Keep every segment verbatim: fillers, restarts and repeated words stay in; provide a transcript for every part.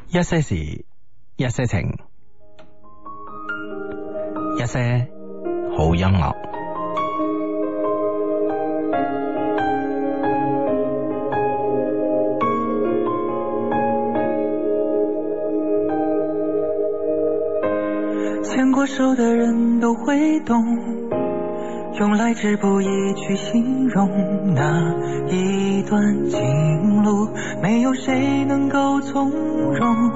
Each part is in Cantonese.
一些事，一些情，一些好音樂。 牵過手的人都會懂，用來之不易去形容那一段情路，沒有誰能夠從容。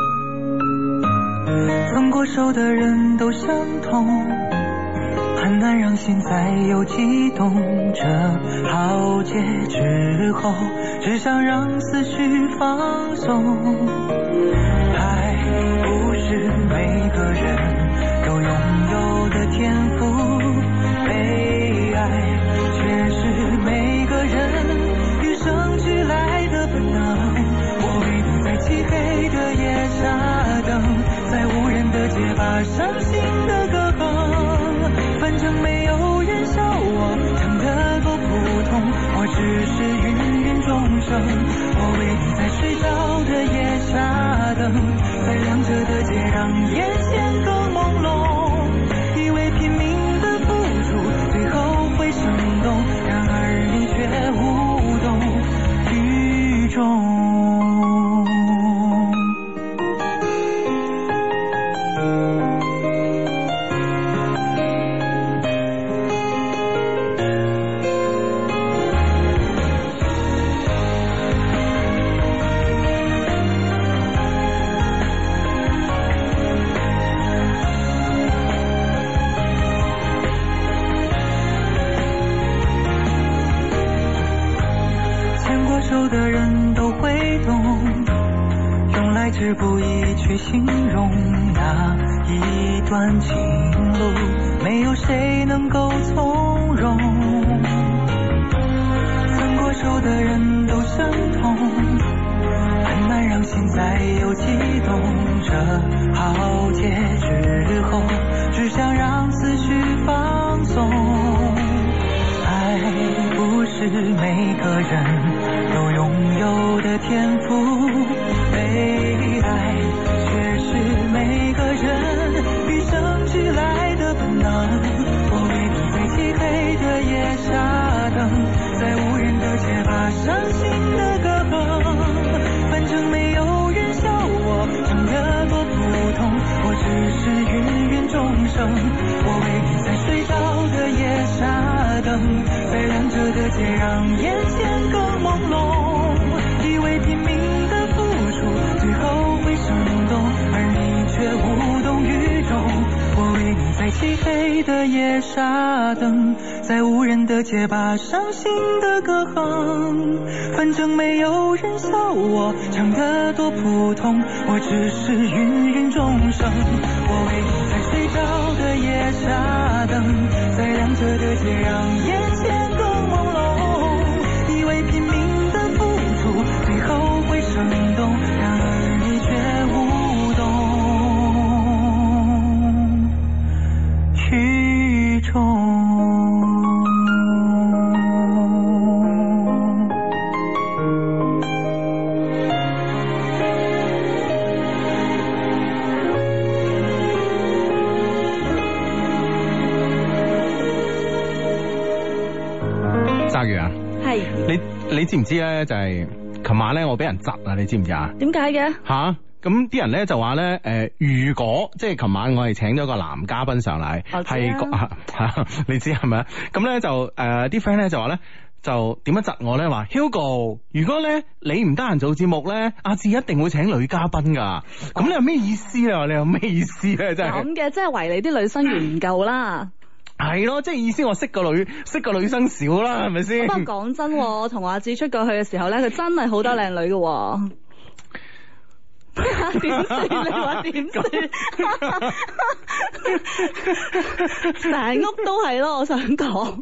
分過手的人都相同，很難讓心再有悸動。這浩劫之後，只想讓思緒放鬆。愛不是每個人都擁有的天賦，被愛卻是每個人與生俱來的本能。我為你在漆黑的夜傻等，在無人的街把傷心的歌哼，反正沒有人笑我唱得多普通，我只是芸芸眾生。我為你在睡着的夜傻等，在亮着的街讓眼前更朦朧，以為拼命的付出最後會生動，然而你卻無動於衷。的人都會懂，用來之不易去形容那一段情路，沒有誰能夠從容。分過手的人都相同，很難讓心再有悸動。這浩劫之後，只想讓思緒放鬆。愛不是每個人都擁有的天賦，被愛卻是每個人與生俱來的本能。我為你在漆黑的夜傻等，在無人的街把傷心的歌哼，反正沒有人笑我唱得多普通，我只是芸芸眾生。我為你在睡着的夜傻等，在亮着的街讓眼前更朦朧，以為拼命的付出最後會生動，而你卻無動於衷。我為你在漆黑的夜傻等，在無人的街把傷心的歌哼，反正沒有人笑我唱得多普通，我只是芸芸眾生。我為你在睡着的夜傻等，在亮着的街讓眼前更朦朧，以為拼命的付出最後會生動，然而你卻無動於衷。 鯊魚啊， 係你你知唔知咧？就係、是、琴晚咧，我俾人窒啊！你知唔知啊？ 點解嘅？ 吓，咁啲人咧就話咧，誒、呃，如果即係琴晚我哋請咗個男嘉賓上嚟，係個、啊啊、你知係咪啊？咁咧就誒，啲 friend 咧就話咧，就點樣窒我咧？話 Hugo，如果咧你唔得閒做節目咧，阿志一定會請女嘉賓噶。咁、哦、你有咩意思啊？你有咩意思咧？真係咁嘅，即係為你啲女生緣唔夠啦。 係咯，即係意思我識個女，識個女生少啦，係咪先？ 不過講真，我同阿志出過去嘅時候咧，佢真係好多靚女嘅。點算？你話點算？成屋都係咯，我想講。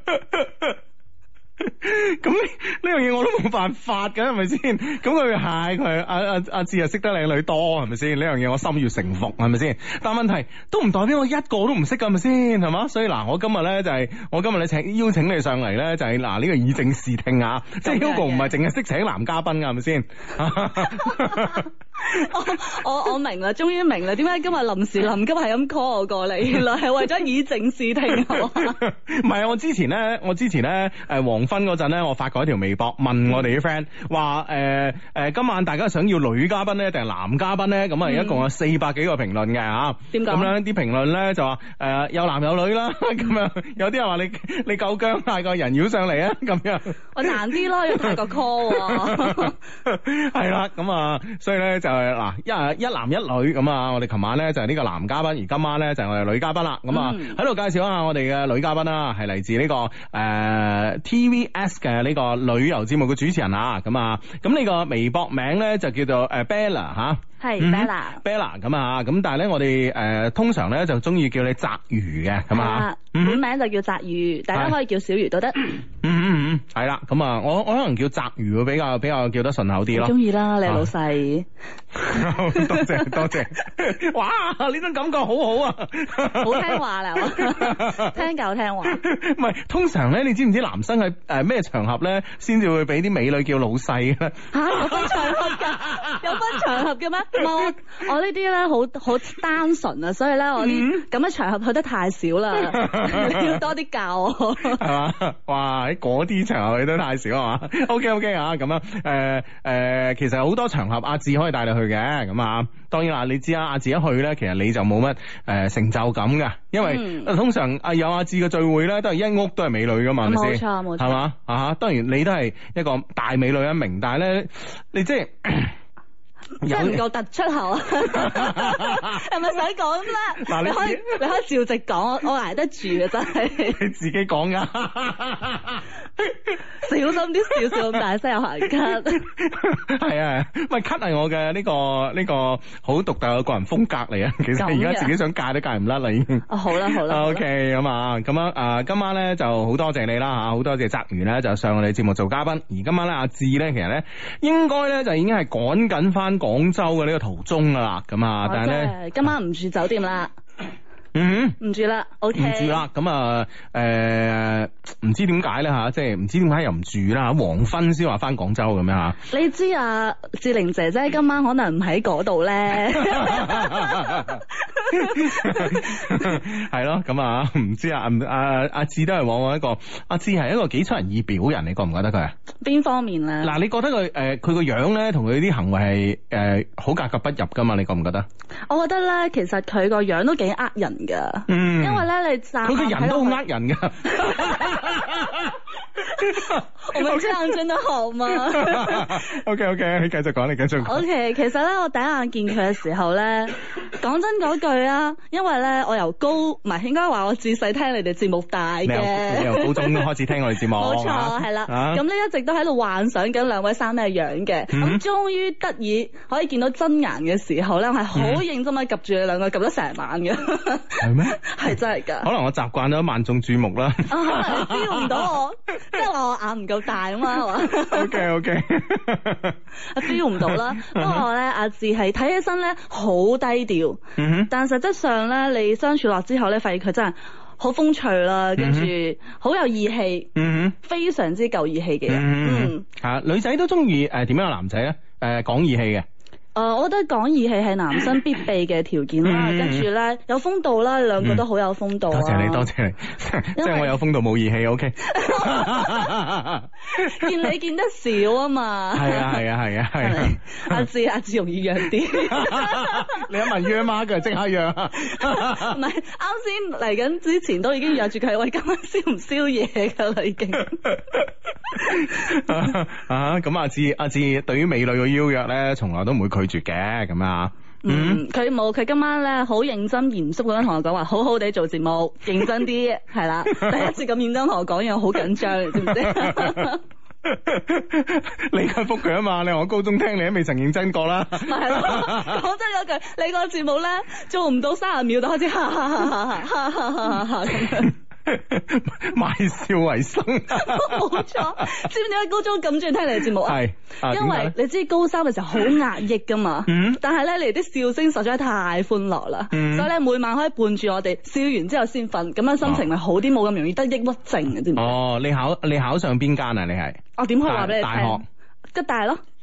咁呢樣嘢我都冇辦法㗎，係咪先？咁佢係佢阿阿阿志又識得靚女多，係咪先？呢樣嘢我心悅誠服，係咪先？但問題都唔代表我一個都唔識㗎，係咪先？係嘛？所以嗱，我今日咧就係、是、我今日咧請邀請你上嚟咧，就係、是、嗱呢、這個以正視聽啊！即係 Hugo 唔係淨係識請男嘉賓㗎，係咪先？ 我我我明啦，終於明啦，點解今日臨時臨急係咁 call 我過嚟，原來係為咗以正視聽係嘛？ 唔係啊，我之前咧，我之前咧，誒黃昏嗰陣咧，我發過一條微博問我哋啲 friend 話誒誒今晚大家想要女嘉賓咧定係男嘉賓咧？咁啊，一共有四百幾個評論嘅嚇。點解？咁樣啲評論咧就話誒有男有女啦，咁樣有啲人話你你夠姜嗌個人妖上嚟啊，咁樣。 我難啲咯，要派個 call 喎。 係啦，咁啊，所以咧就係嗱一一男一女咁啊，我哋琴晚咧就係呢個男嘉賓，而今晚咧就係我哋女嘉賓啦。咁啊喺度介紹一下我哋嘅女嘉賓啦，係嚟自呢個誒 T V S 嘅呢個旅遊節目嘅主持人啊。咁啊，咁呢個微博名咧就叫做誒 Bella 吓。 係 Bella，Bella 咁啊，咁但係咧我哋誒通常咧就中意叫你澤魚嘅，咁啊， 本名就叫澤魚，大家可以叫小魚都得。 嗯嗯嗯，係啦，咁啊，我我可能叫澤魚會比較比較叫得順口啲咯。 中意啦，你係老細。 多謝多謝，哇！呢種感覺好好啊， 好聽話啦，聽夠聽話。 唔係，通常咧，你知唔知男生喺誒咩場合咧，先至會俾啲美女叫老細嘅咧？ 嚇，有分場合㗎，有分場合嘅咩？我我呢啲咧好好單純啊，所以咧我啲咁嘅場合去得太少啦，你要多啲教我。係嘛？哇！喺嗰啲場合去得太少係嘛？OK OK 啊，咁樣誒誒，其實好多場合阿志可以帶你去嘅，咁啊，當然啦，你知啊，阿志一去咧，其實你就冇乜誒成就感㗎，因為、嗯、通常啊有阿志嘅聚會咧，都係一屋都係美女㗎嘛，係咪先？冇錯冇錯，係嘛啊？當然你都係一個大美女一名，但係咧你即係。 即係唔夠突出口啊！係咪使講啦？嗱，你可以你可以照直講，我我捱得住啊！真係你自己講噶， 小心啲，少少咁大聲有行咳。 係啊，喂，咳係我嘅呢個呢個好獨特嘅個人風格嚟啊！其實而家自己想戒都戒唔甩啦，已經。 哦，好啦好啦。 OK，咁啊，咁樣啊，今晚咧就好多謝你啦吓，好多謝澤源咧就上我哋節目做嘉賓，而今晚咧阿志咧其實咧應該咧就已經係趕緊翻廣州嘅呢個途中噶啦，咁啊，但係咧今晚唔住酒店啦， 嗯， 唔住啦 ，OK， 唔住啦，咁啊，誒，唔知點解咧吓，即係唔知點解又唔住啦，黃昏先話翻廣州咁樣吓。 你知啊，志玲姐姐今晚可能唔喺嗰度咧， 係咯，咁啊，唔知啊，阿阿志都係往往一個，阿志係一個幾出人意表人，你覺唔覺得佢啊？ 邊方面咧？嗱， 你覺得佢誒，佢個樣咧同佢啲行為係誒好格格不入噶嘛？你覺唔覺得？ 我覺得咧，其實佢個樣都幾呃人噶， 嗯， 因為咧你站佢個人都好呃人噶。 我們這樣真的好嗎 ？OK OK，你繼續講，你繼續講。 OK， 其實咧我第一眼見佢嘅時候咧，講真嗰句啊，因為咧我由高唔係應該話我自細聽你哋節目大嘅， 你由高中開始聽我哋節目， 冇錯係啦。咁咧一直都喺度幻想緊兩位生咩樣嘅，咁終於得以可以見到真顏嘅時候咧，我係好認真咁及住你兩個及咗成晚嘅。 係咩？係真係噶。 可能我習慣咗萬眾注目啦。 可能你 feel 唔到我，即係話我眼唔夠大啊嘛，係嘛 ？OK OK， feel 唔到啦。不過咧，阿志係睇起身咧好低調，但實質上咧，你相處落之後咧，發現佢真係好風趣啦，跟住好有義氣，嗯，非常之夠義氣嘅人。嗯， 吓女仔都中意誒點樣嘅男仔咧？誒講義氣嘅。 誒、呃，我覺得講義氣係男生必備嘅條件啦，跟住咧有風度啦，兩個都好有風度、啊嗯。多謝你，多謝你，即係我有風度冇義氣，OK。見你見得少啊嘛。係啊係啊係啊係啊。阿志阿志容易約啲。 你一問約嗎？佢即刻約。 唔係，啱先嚟緊之前都已經約住佢，喂，今晚宵唔宵夜噶啦已經。 啊，咁阿志阿志對於美女嘅邀約咧，從來都唔會拒絕嘅，咁啊， 嗯，佢冇，佢今晚咧好認真嚴肅咁樣同我講話，好好地做節目，認真啲，係啦，第一次咁認真同我講嘢，好緊張，你知唔知？ 你佢覆佢啊嘛，你話我高中聽你都未曾認真過啦。 咪係咯，講真嗰句，你個節目咧做唔到三十秒就開始哈哈哈哈哈哈哈哈咁樣。 賣笑為生， 冇錯。知唔知點解高中咁中意聽你嘅節目啊？係、啊，因為你知高三嘅時候好壓抑噶嘛。嗯。但係咧，你哋啲笑聲實在太歡樂啦。嗯。所以咧，每晚可以伴住我哋笑完之後先瞓，咁樣心情咪好啲，冇咁容易得抑鬱症嘅，知唔知？ 哦，你考你考上邊間啊？你係？ 我點可以話俾你聽？ 大學。 吉大咯。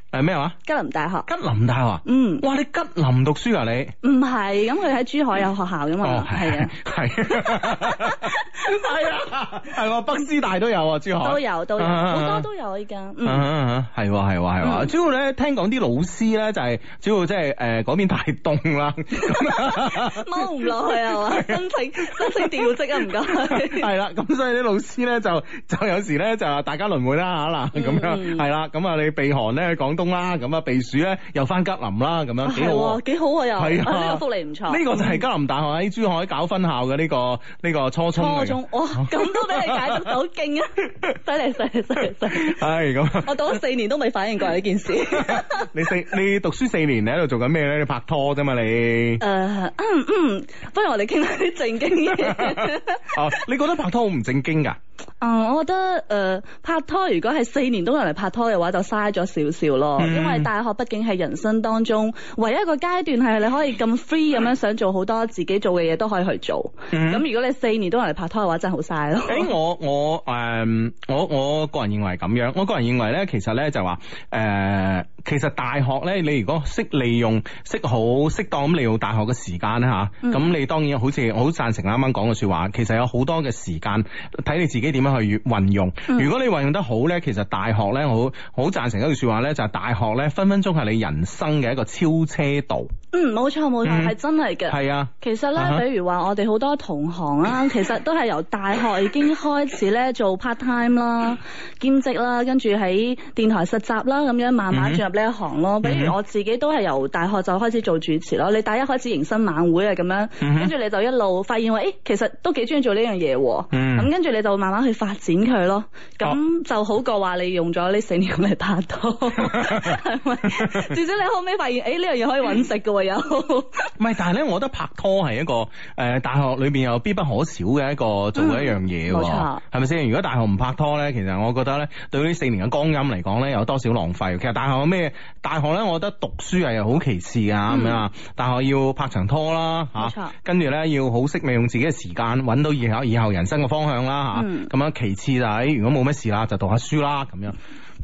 誒咩話？ 吉林大學。 吉林大學。 嗯。 哇！你吉林讀書啊你？ 唔係，咁佢喺珠海有學校噶嘛？ 哦，係啊，係。係啊，係喎，北師大都有啊，珠海。 都有都有，好多都有依家。嗯。 係喎係喎係喎，主要咧聽講啲老師咧就係主要即係誒嗰邊太凍啦， 踎唔落去係嘛？申請申請調職啊唔該。 係啦，咁所以啲老師咧就就有時咧就大家輪換啦嚇嗱，咁樣係啦，咁啊你避寒咧去廣東啦，咁啊避暑咧又翻吉林啦，咁樣幾好啊， 幾好啊又， 係啊， 呢個福利唔錯。 呢個就係吉林大學喺珠海搞分校嘅呢個呢個初中。初中哇，咁都俾你解讀到勁啊！犀利犀利犀利犀利。 係咁。 我讀咗四年都未反應過呢件事。 你四你讀書四年，你喺度做緊咩咧？你拍拖啫嘛你？誒， 嗯嗯，不如我哋傾下啲正經嘢。 哦，你覺得拍拖好唔正經噶？ 嗯，我覺得誒、呃、拍拖如果係四年都用嚟拍拖嘅話，就嘥咗少少咯。嗯、因為大學畢竟係人生當中唯一一個階段，係你可以咁 free 咁樣想做好多自己做嘅嘢都可以去做。咁、嗯、如果你四年都用嚟拍拖嘅話，真係好嘥咯。誒、欸， 我我誒、呃、我我個人認為係咁樣。我個人認為咧，其實咧就話誒、呃，其實大學咧，你如果識利用、識好適當咁利用大學嘅時間咧吓，咁、嗯、你當然好似我好贊成啱啱講嘅說話。其實有好多嘅時間睇你自己點樣去運用。嗯、如果你運用得好咧，其實大學咧，我好好贊成一句說話咧，就係、是、大學咧分分鐘係你人生嘅一個超車道。 嗯，冇錯冇錯，係、嗯、真係嘅。係啊，其實咧，uh huh. 比如話我哋好多同行啦，其實都係由大學已經開始咧做 part time 啦、兼職啦，跟住喺電台實習啦，咁樣慢慢進入呢一行咯。比如我自己都係由大學就開始做主持咯。你大一開始迎新晚會啊，咁樣，跟住、uh huh. 你就一路發現話，誒，其實都幾中意做呢樣嘢，咁跟住你就慢慢去發展佢咯。咁就好過話你用咗呢四年嚟拍拖，係咪？至少你後尾發現，誒，呢樣嘢可以搵食噶。有，唔係，但係咧，我覺得拍拖係一個誒、呃，大學裏邊有必不可少嘅一個做嘅一樣嘢，冇錯，係咪先？如果大學唔拍拖咧，其實我覺得咧，對呢四年嘅光陰嚟講咧，有多少浪費？其實大學有咩？大學咧，我覺得讀書係好其次噶，咁樣啊，大學要拍場拖啦，吓、啊，錯跟住咧要好識利用自己嘅時間，搵到以後以後人生嘅方向啦，吓、啊，咁、嗯、樣其次就係如果冇咩事啦，就讀下書啦，咁樣。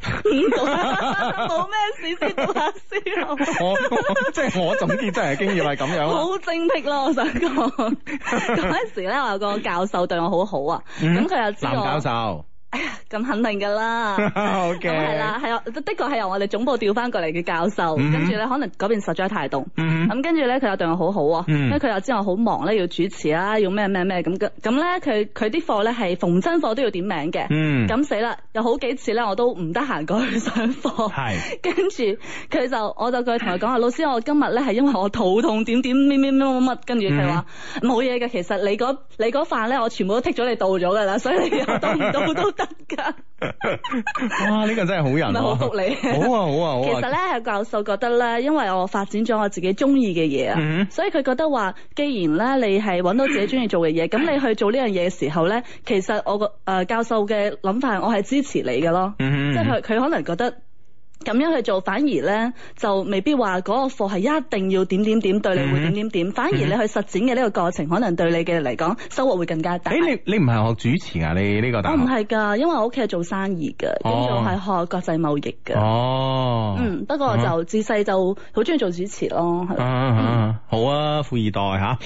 冇咩事先讀下書。 我，我即係我總結真係經驗係咁樣。 好精闢咯，我想講嗰陣時咧，我有個教授對我好好啊，咁佢、嗯、又知我男教授。 哎呀，咁肯定噶啦，咁係啦，係啊，的確係由我哋總部調翻過嚟嘅教授，跟住咧可能嗰邊實在太凍，咁跟住咧佢又對我好好啊，因為佢又知我好忙咧，要主持啦，要咩咩咩咁嘅，咁咧佢佢啲課咧係逢真課都要點名嘅，咁死啦，有好幾次咧我都唔得閒過去上課，係，跟住佢就我就過去同佢講話，老師我今日咧係因為我肚痛點點咩咩乜乜乜，跟住佢話冇嘢嘅，其實你嗰你嗰飯咧我全部都剔咗你到咗噶啦，所以你又到唔到都得。 哇！呢、這個真係好人、啊，唔係好福利。 好啊，好啊，好啊。 其實咧，教授覺得咧，因為我發展咗我自己中意嘅嘢啊，嗯、所以佢覺得話，既然咧你係揾到自己中意做嘅嘢，咁你去做呢樣嘢嘅時候咧，其實我個誒、呃、教授嘅諗法，我係支持你嘅咯。嗯、即係佢佢可能覺得。咁樣去做，反而咧就未必話嗰個課係一定要點點點對你會點點點，嗯、反而你去實踐嘅呢個過程，可能對你嘅嚟講收穫會更加大。誒、欸，你你唔係學主持啊？你呢個大學？我唔係㗎，因為我屋企係做生意㗎，咁就係學國際貿易㗎。哦，嗯，不過就自細就好中意做主持咯。係啊，啊嗯、好啊，富二代嚇。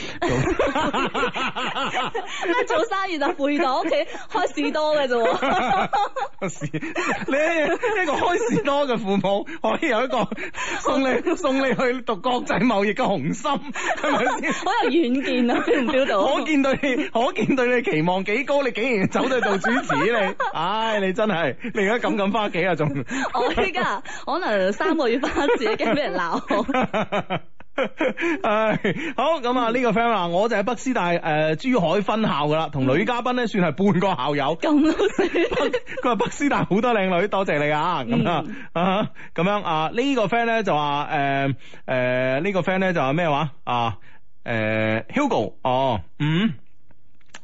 咩做生意就富二代？屋企開士多嘅啫喎。 士，你一個開士多嘅父母可以有一個送你送你去讀國際貿易嘅雄心，係咪先？ 好有遠見啊！feel 唔 feel 到？ 可見對你，可見對你期望幾高，你竟然走到做主持你，唉！你真係，你而家咁咁翻屋企啊？仲我依家可能三個月翻一次，驚俾人鬧。 唉，好咁啊！呢個 friend 話，我就係北師大誒、呃、珠海分校噶啦，同女嘉賓咧算係半個校友。 咁老實， 佢話北師大好多靚女，多謝你啊！咁啊啊咁樣啊，呢個 friend 咧就話誒誒呢個 friend 咧就話咩話啊誒 Hugo 哦嗯。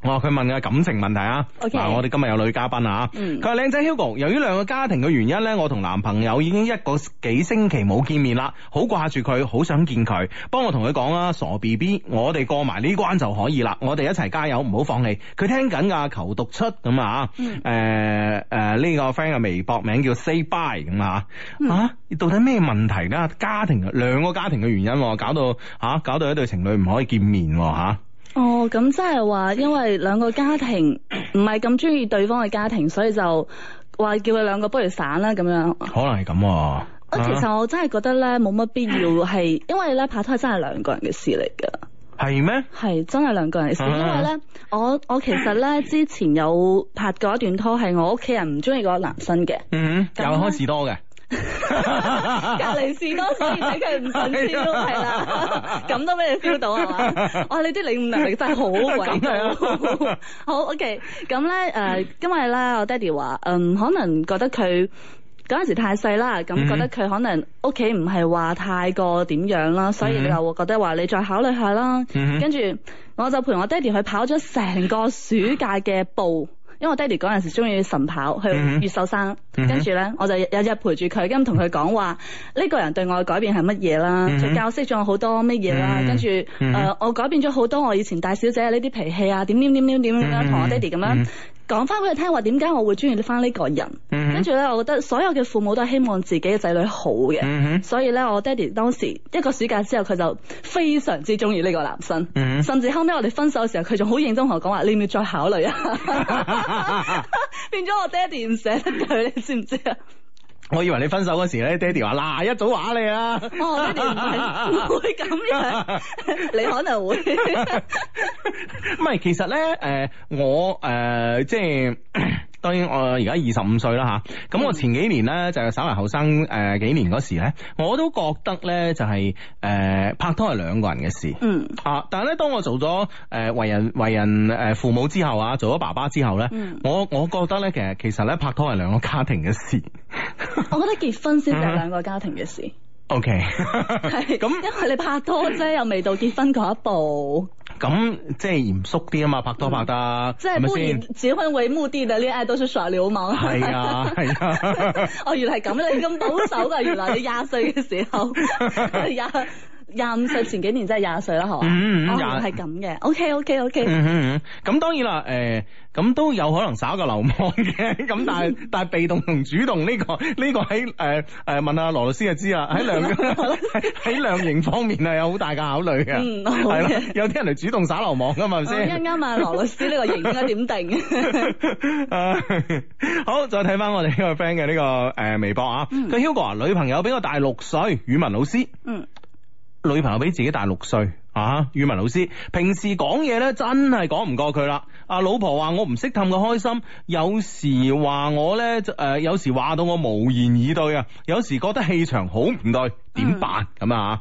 哦，佢問嘅感情問題啊。 OK， 我哋今日有女嘉賓啊。 嗯， 佢話靚仔 Hugo，由於兩個家庭嘅原因咧，我同男朋友已經一個幾星期冇見面啦，好掛住佢，好想見佢。幫我同佢講啊，傻 B B，我哋過埋呢關就可以啦，我哋一齊加油，唔好放棄。佢聽緊噶，求讀出咁啊。誒誒、嗯，呢、呃呃這個 friend 嘅微博名叫 Say Bye 咁啊。嗯、啊，到底咩問題噶？家庭兩個家庭嘅原因，搞到吓、啊，搞到一對情侶唔可以見面吓。啊哦，咁即係話，因為兩個家庭唔係咁中意對方嘅家庭，所以就話叫佢兩個不如散啦咁樣。可能係咁。啊， 其實我真係覺得咧，冇乜必要係，因為咧拍拖係真係兩個人嘅事嚟噶。 係咩？係真係兩個人嘅事，啊、因為咧，我我其實咧之前有拍過一段拖，係我屋企人唔中意嗰個男生嘅。 嗯，又開士多嘅。 隔離士多，所以睇佢唔順超，係啦，咁都俾你 feel 到係嘛？哇！你啲領悟能力真係好偉大。好 OK，咁咧誒，因為咧我爹哋話，嗯，可能覺得佢嗰陣時太細啦，咁覺得佢可能屋企唔係話太過點樣啦，所以你就覺得話你再考慮下啦。跟住我就陪我爹哋去跑咗成個暑假嘅步。因為我爹哋嗰陣時中意晨跑去越秀山，嗯、跟住咧我就日日陪住佢，咁同佢講話呢個人對我嘅改變係乜嘢啦，嗯、就教識咗我好多乜嘢啦，嗯、跟住誒、嗯呃、我改變咗好多我以前大小姐呢啲脾氣啊，點點點點點咁樣同我爹哋咁樣。嗯講翻俾佢聽話，點解我會中意翻呢個人？嗯、哼跟住咧，我覺得所有嘅父母都係希望自己嘅仔女好嘅，嗯、哼所以咧，我爹哋當時一個暑假之後，佢就非常之中意呢個男生，嗯、哼甚至後尾我哋分手嘅時候，佢仲好認真同我講話，你要唔要再考慮啊？變咗我爹哋唔捨得佢，你知唔知啊？ 我以為你分手嗰時咧，爹哋話嗱一早話你啊， 哦，爹哋唔係唔會咁樣，你可能會唔係，其實咧，誒、呃，我誒、呃，即係。當然我而家二十五歲啦吓，咁我前幾年咧就稍為後生誒幾年嗰時咧，我都覺得咧就係、是、誒、呃、拍拖係兩個人嘅事，嗯啊，但係咧當我做咗誒、呃、為人為人誒父母之後啊，做咗爸爸之後咧，嗯、我我覺得咧其實其實咧拍拖係兩個家庭嘅事， 我覺得結婚先係兩個家庭嘅事。 O K， 係咁，因為你拍拖啫，又未到結婚嗰一步。 咁即係嚴肅啲啊嘛，拍拖拍得， 即係不以結婚為目的嘅戀愛都是耍流氓。 係啊係啊， 哦原來係咁，你咁保守噶，原來你廿歲嘅時候廿廿五歲前幾年真係廿歲啦，係嘛？嗯嗯，哦係咁嘅。O K O K O K。嗯嗯嗯，咁當然啦，誒。咁都有可能耍個流氓嘅，咁但係但係被動同主動呢、這個呢、這個喺誒誒問阿羅律師就知啦，喺量喺量刑方面係有好大嘅考慮嘅，嗯係咯，有啲人嚟主動耍流氓噶嘛，係咪先？啱啱啊，羅律師呢個刑應該點定？好，再睇翻我哋呢個 friend 嘅呢個誒微博啊，佢 Hugo 啊，女朋友比我大六歲，語文老師，嗯，女朋友比自己大六歲。啊，語文老師平時講嘢咧真係講唔過佢啦。阿老婆話我唔識氹佢開心，有時話我咧誒、呃，有時話到我無言以對啊，有時覺得氣場好唔對，點辦咁、嗯、啊？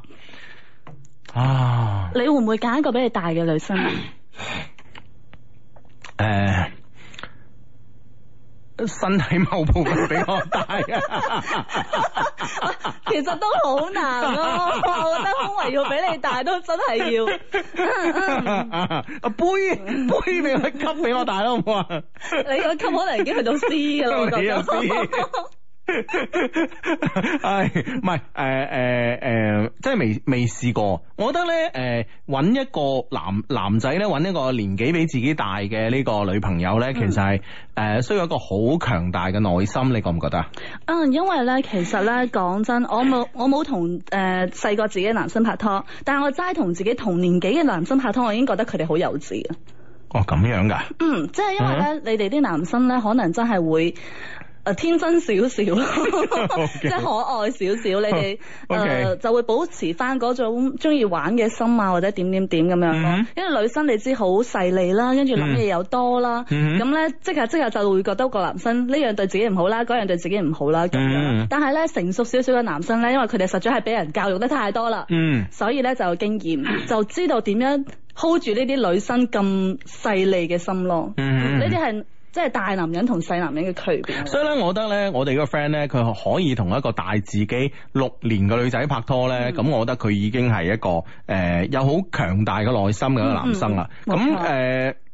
啊，你會唔會揀一個比你大嘅女生啊？誒、呃。身體某部分比我大啊，其實都好難咯、啊。我覺得胸圍要比你大都真係要。啊杯杯俾我級比我大好唔好啊？你個級可能已經去到 C 噶啦，我覺得。唉，唔係誒誒誒，即係未未試過。我覺得咧誒，搵、呃、一個男男仔咧，搵一個年紀比自己大嘅呢個女朋友咧，嗯、其實係誒、呃、需要一個好強大嘅內心。你覺唔覺得啊？嗯，因為咧，其實咧講真，我冇我冇同誒細個自己嘅男生拍拖，但係我齋同自己同年紀嘅男生拍拖，我已經覺得佢哋好幼稚啊。哦，咁樣噶？嗯，即係因為咧，嗯、你哋啲男生咧，可能真係會。誒，天真少少咯，即係可愛少少，你哋誒就會保持翻嗰種中意玩嘅心啊，或者點點點咁樣咯。因為女生你知好細膩啦，跟住諗嘢又多啦，咁咧即係即係就會覺得個男生呢樣對自己唔好啦，嗰樣對自己唔好啦咁樣。但係咧成熟少少嘅男生咧，因為佢哋實在係俾人教育得太多啦，所以咧就有經驗，就知道點樣 hold 住呢啲女生咁細膩嘅心咯。呢啲係。即係大男人同細男人嘅區別，所以咧，我覺得咧，我哋個 friend 咧，佢可以同一個大自己六年嘅女仔拍拖咧，咁、嗯、我覺得佢已經係一個誒、呃、有好強大嘅內心嘅一個男生啦。咁誒、嗯。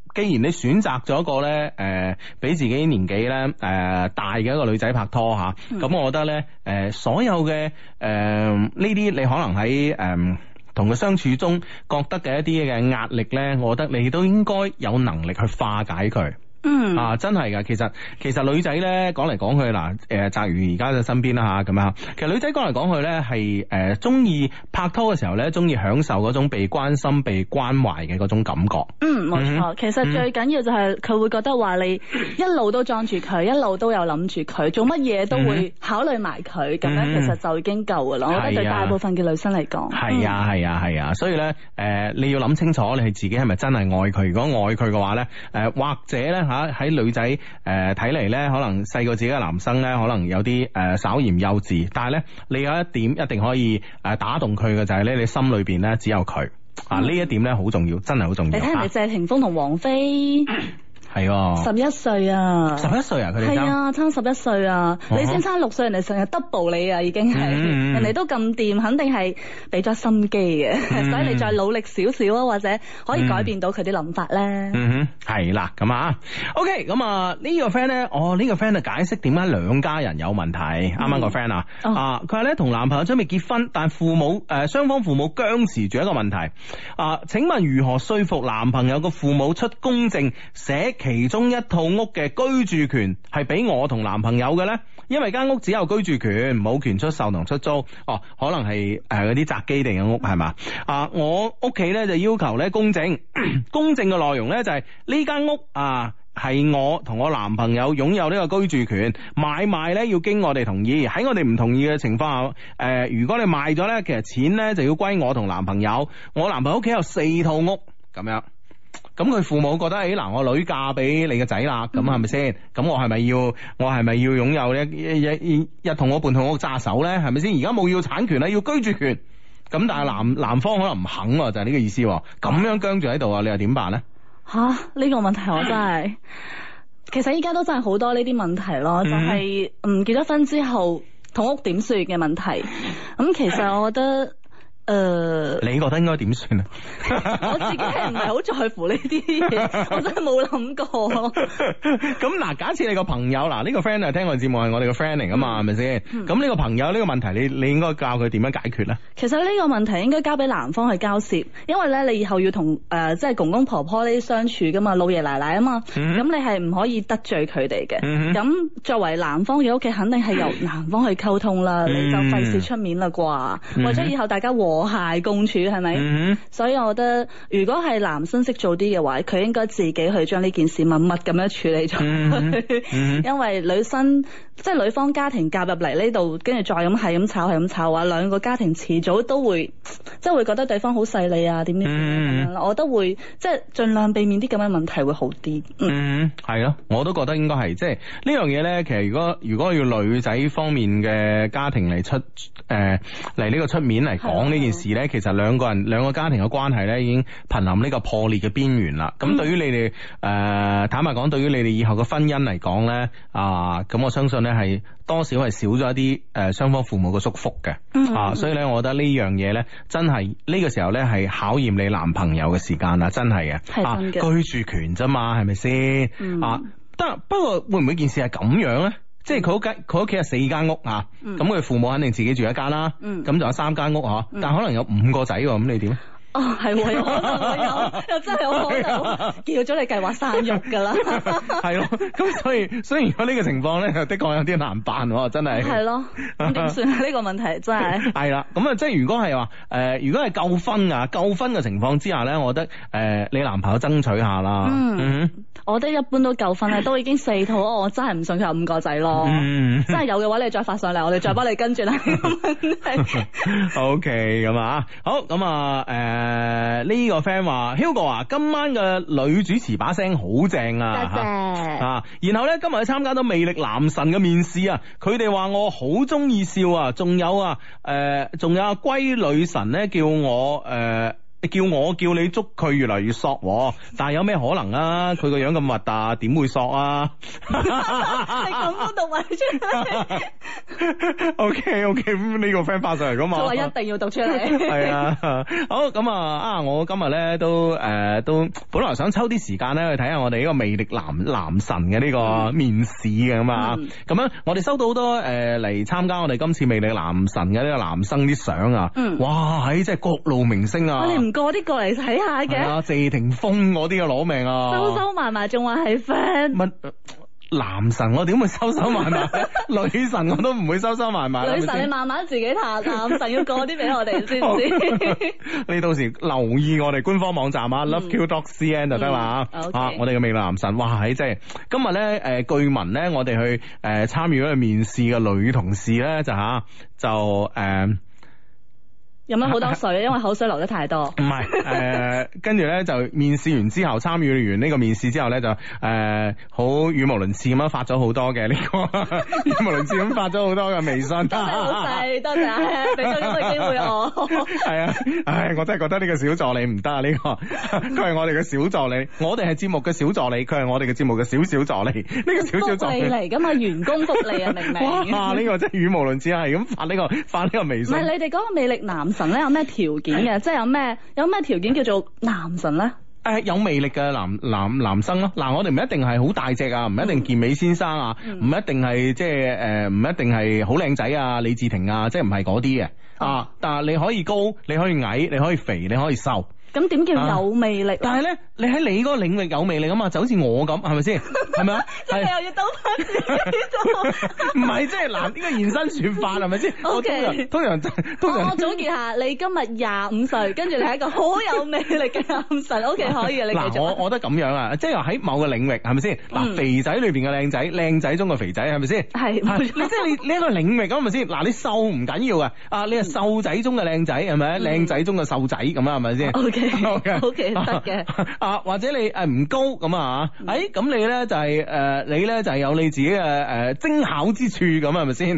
既然你選擇咗一個咧，誒、呃，比自己年紀咧，誒、呃，大嘅一個女仔拍拖吓，咁、嗯、我覺得咧，誒、呃，所有嘅誒呢啲你可能喺誒同佢相處中覺得嘅一啲嘅壓力咧，我覺得你都應該有能力去化解佢。嗯啊，真係噶，其實其實女仔咧講嚟講去嗱，誒，澤如而家嘅身邊啦吓，咁啊，其實女仔講嚟講去咧係誒中意拍拖嘅時候咧，中意享受嗰種被關心、被關懷嘅嗰種感覺。嗯， 冇錯。其實最緊要就係佢會覺得話你一路都裝住佢，一路都有諗住佢，做乜嘢都會考慮埋佢，咁樣其實就已經夠噶啦。我覺得對大部分嘅女生嚟講，係啊係啊係啊，所以咧誒你要諗清楚，你係自己係咪真係愛佢？如果愛佢嘅話咧，誒或者咧。吓喺女仔誒睇嚟咧，可能細過自己嘅男生咧，可能有啲誒、呃、稍嫌幼稚，但係咧你有一點一定可以誒打動佢嘅就係咧，你心裏邊咧只有佢、嗯、啊，呢一點咧好重要，真係好重要。你睇人哋謝霆鋒同王菲。係十一歲啊！十一歲啊！佢哋係啊，差十一歲啊！你先差六歲，人哋成日 double 你啊，已經係、嗯、人哋都咁掂，肯定係俾咗心機嘅，嗯、所以你再努力少少啊，或者可以改變到佢啲諗法咧。嗯哼，係啦，咁啊，OK，咁啊呢個 friend 咧，哦呢、呢個 friend 就解釋點解兩家人有問題。啱啱、嗯、個 friend 啊，哦、啊佢話咧同男朋友準備結婚，但父母誒雙、呃、方父母僵持住一個問題啊，請問如何說服男朋友個父母出公證寫其中一套屋嘅居住權係俾我同男朋友嘅呢？因為間屋只有居住權，冇權出售同出租。哦，可能係誒嗰啲宅基地嘅屋係嘛？啊，我屋企呢就要求呢公證，公證嘅內容呢就係呢間屋啊係我同我男朋友擁有呢個居住權，買賣呢要經我哋同意。喺我哋唔同意嘅情況下，誒、呃、如果你賣咗呢，其實錢呢就要歸我同男朋友。我男朋友屋企有四套屋咁樣。咁佢父母覺得誒嗱、哎，我女嫁俾你個仔啦，咁係咪先？咁我係咪要我係咪要擁有一一一一套屋半套屋揸手咧？係咪先？而家冇要產權啦，要居住權。咁但係男男方可能唔肯，就係、是、呢個意思。咁樣僵住喺度啊，你又點辦咧？吓，呢、這個問題我真係，其實依家都真係好多呢啲問題咯，就係、是、嗯結咗婚之後，同屋點算嘅問題。咁其實我覺得。誒，呃、你覺得應該點算啊？我自己係唔係好在乎呢啲嘢，我真係冇諗過。咁嗱，假設你個朋友嗱，呢、呢個 friend 係聽我哋節目係我哋個 friend 嚟噶嘛，係咪先？咁呢個朋友呢個問題，你你應該教佢點樣解決咧？其實呢個問題應該交俾男方去交涉，因為咧你以後要同誒、呃、即係公公婆婆呢啲相處噶嘛，老爺奶奶啊嘛，咁、嗯、哼你係唔可以得罪佢哋嘅。咁、嗯、哼作為男方嘅屋企，肯定係由男方去溝通啦，嗯、你就費事出面啦啩，嗯、或者以後大家和諧共處係咪？嗯、所以我覺得如果係男生識做啲嘅話，佢應該自己去將呢件事默默咁樣處理咗。嗯嗯、因為女生即係女方家庭夾入嚟呢度，跟住再咁係咁吵係咁吵啊，兩個家庭遲早都會即係會覺得對方好勢利啊，點點點咁樣啦。我都會即係盡量避免啲咁嘅問題會好啲。嗯，係咯、嗯，我都覺得應該係即係呢樣嘢咧。其實如果如果要女仔方面嘅家庭嚟出誒嚟呢個出面嚟講呢件事咧，其實兩個人兩個家庭嘅關係咧已經瀕臨呢個破裂嘅邊緣啦。咁、嗯、對於你哋誒、呃、坦白講，對於你哋以後嘅婚姻嚟講咧啊，咁、呃、我相信咧係多少係少咗一啲誒雙方父母嘅祝福嘅。嗯、啊，所以咧，我覺得呢樣嘢咧，真係呢個時候咧係考驗你男朋友嘅時間啦，真係嘅。係真嘅。啊，居住權啫嘛，係咪先？嗯、啊，得不過會唔會件事係咁樣咧？即係佢屋企佢屋企係四間屋啊，咁佢、嗯、父母肯定自己住一間啦，咁就、嗯、有三間屋嗬，嗯、但可能有五個仔喎，咁你點？哦，係喎，有可能有，又真係有可能叫咗你計劃生育噶啦，係咯，咁所以所以如果呢個情況咧，的確有啲難辦，真係。係咯，咁點算啊？呢個問題真係。係啦，咁啊，即係如果係話誒，如果係夠分啊，夠分嘅情況之下咧，我覺得誒、呃，你男朋友爭取下啦。嗯，嗯我覺得一般都夠分啦，都已經四套，我真係唔信佢有五個仔咯。嗯，真係有嘅話，你再發上嚟，我哋再幫你跟住啦。O K， 咁啊，好，咁啊，誒、呃。誒，呢個 friend 話 Hugo 啊，今晚嘅女主持把聲好正啊，多謝啊！然後咧今日去參加到魅力男神嘅面試啊，佢哋話我好中意笑啊，仲有啊，誒、呃，仲有阿龜女神咧叫我誒。呃你叫我叫你捉佢越嚟越索，但係有咩可能啊？佢個樣咁核突，點會索啊？ 你咁都讀埋出嚟。 O K O K， 咁呢個 friend 發上嚟噶嘛？ 就話一定要讀出嚟。 係啊，好咁啊啊！我今日咧都誒、呃、都本來想抽啲時間咧去睇下我哋呢個魅力男男神嘅呢個面試嘅咁啊，咁樣、嗯、我哋收到好多誒嚟參加我哋今次魅力男神嘅呢個男生啲相啊，嗯、哇喺即係各路明星啊！ 你唔過啲過嚟睇下嘅？ 啊，謝霆鋒嗰啲嘅攞命啊！ 收收埋埋仲話係 friend。 乜男神我點會收收埋埋？女神我都唔會收收埋埋。 女神你慢慢自己彈，男神要過啲俾我哋先唔知。 你到時留意我哋官方網站啊 ，loveq dot cn 就得啦啊！我哋嘅魅力男神，哇喺即係今日咧誒，據聞咧我哋去誒參與嗰個面試嘅女同事咧就吓就誒。呃飲咗好多水，因為口水流得太多。 唔係，誒，跟住咧就面試完之後，參與完呢個面試之後咧就誒好語無倫次咁樣發咗好多嘅呢個語無倫次咁發咗好多嘅微信。多謝老細，多謝，俾咗咁嘅機會我。係啊，唉，我真係覺得呢個小助理唔得啊！呢個佢係我哋嘅小助理，我哋係節目嘅小助理，佢係我哋嘅節目嘅小小助理。呢個小小助理嚟噶嘛，員工福利啊，明唔明？ 哇！呢個真係語無倫次啊，係咁發呢個發呢個微信。 唔係你哋嗰個魅力男神咧有咩條件嘅？即係有咩有咩條件叫做男神咧？ 誒，有魅力嘅男男男生咯。嗱，我哋唔一定係好大隻啊，唔一定健美先生啊，唔、嗯、一定係即係誒，唔、呃、一定係好靚仔啊，李治廷啊，即係唔係嗰啲嘅啊。但係你可以高，你可以矮，你可以肥，你可以瘦。 咁點叫有魅力？ 但係咧，你喺你嗰個領域有魅力啊嘛，就好似我咁，係咪先？係咪啊？ 即係又要兜翻自己做？ 唔係，即係嗱，呢個現身說法係咪先？ O K， 通常通常我總結下，你今日廿五歲，跟住你係一個好有魅力嘅男神。O K， 可以啊，你繼續。 嗱，我我覺得咁樣啊，即係喺某個領域係咪先？嗱，肥仔裏邊嘅靚仔，靚仔中嘅肥仔係咪先？係，你即係你呢一個領域咁係咪先？嗱，你瘦唔緊要啊，啊，你係瘦仔中嘅靚仔係咪？靚仔中嘅瘦仔咁啊，係咪先 ？O K。O K 得嘅啊，或者你誒唔高咁啊，誒咁你咧就係誒你咧就係有你自己嘅誒精巧之處咁係咪先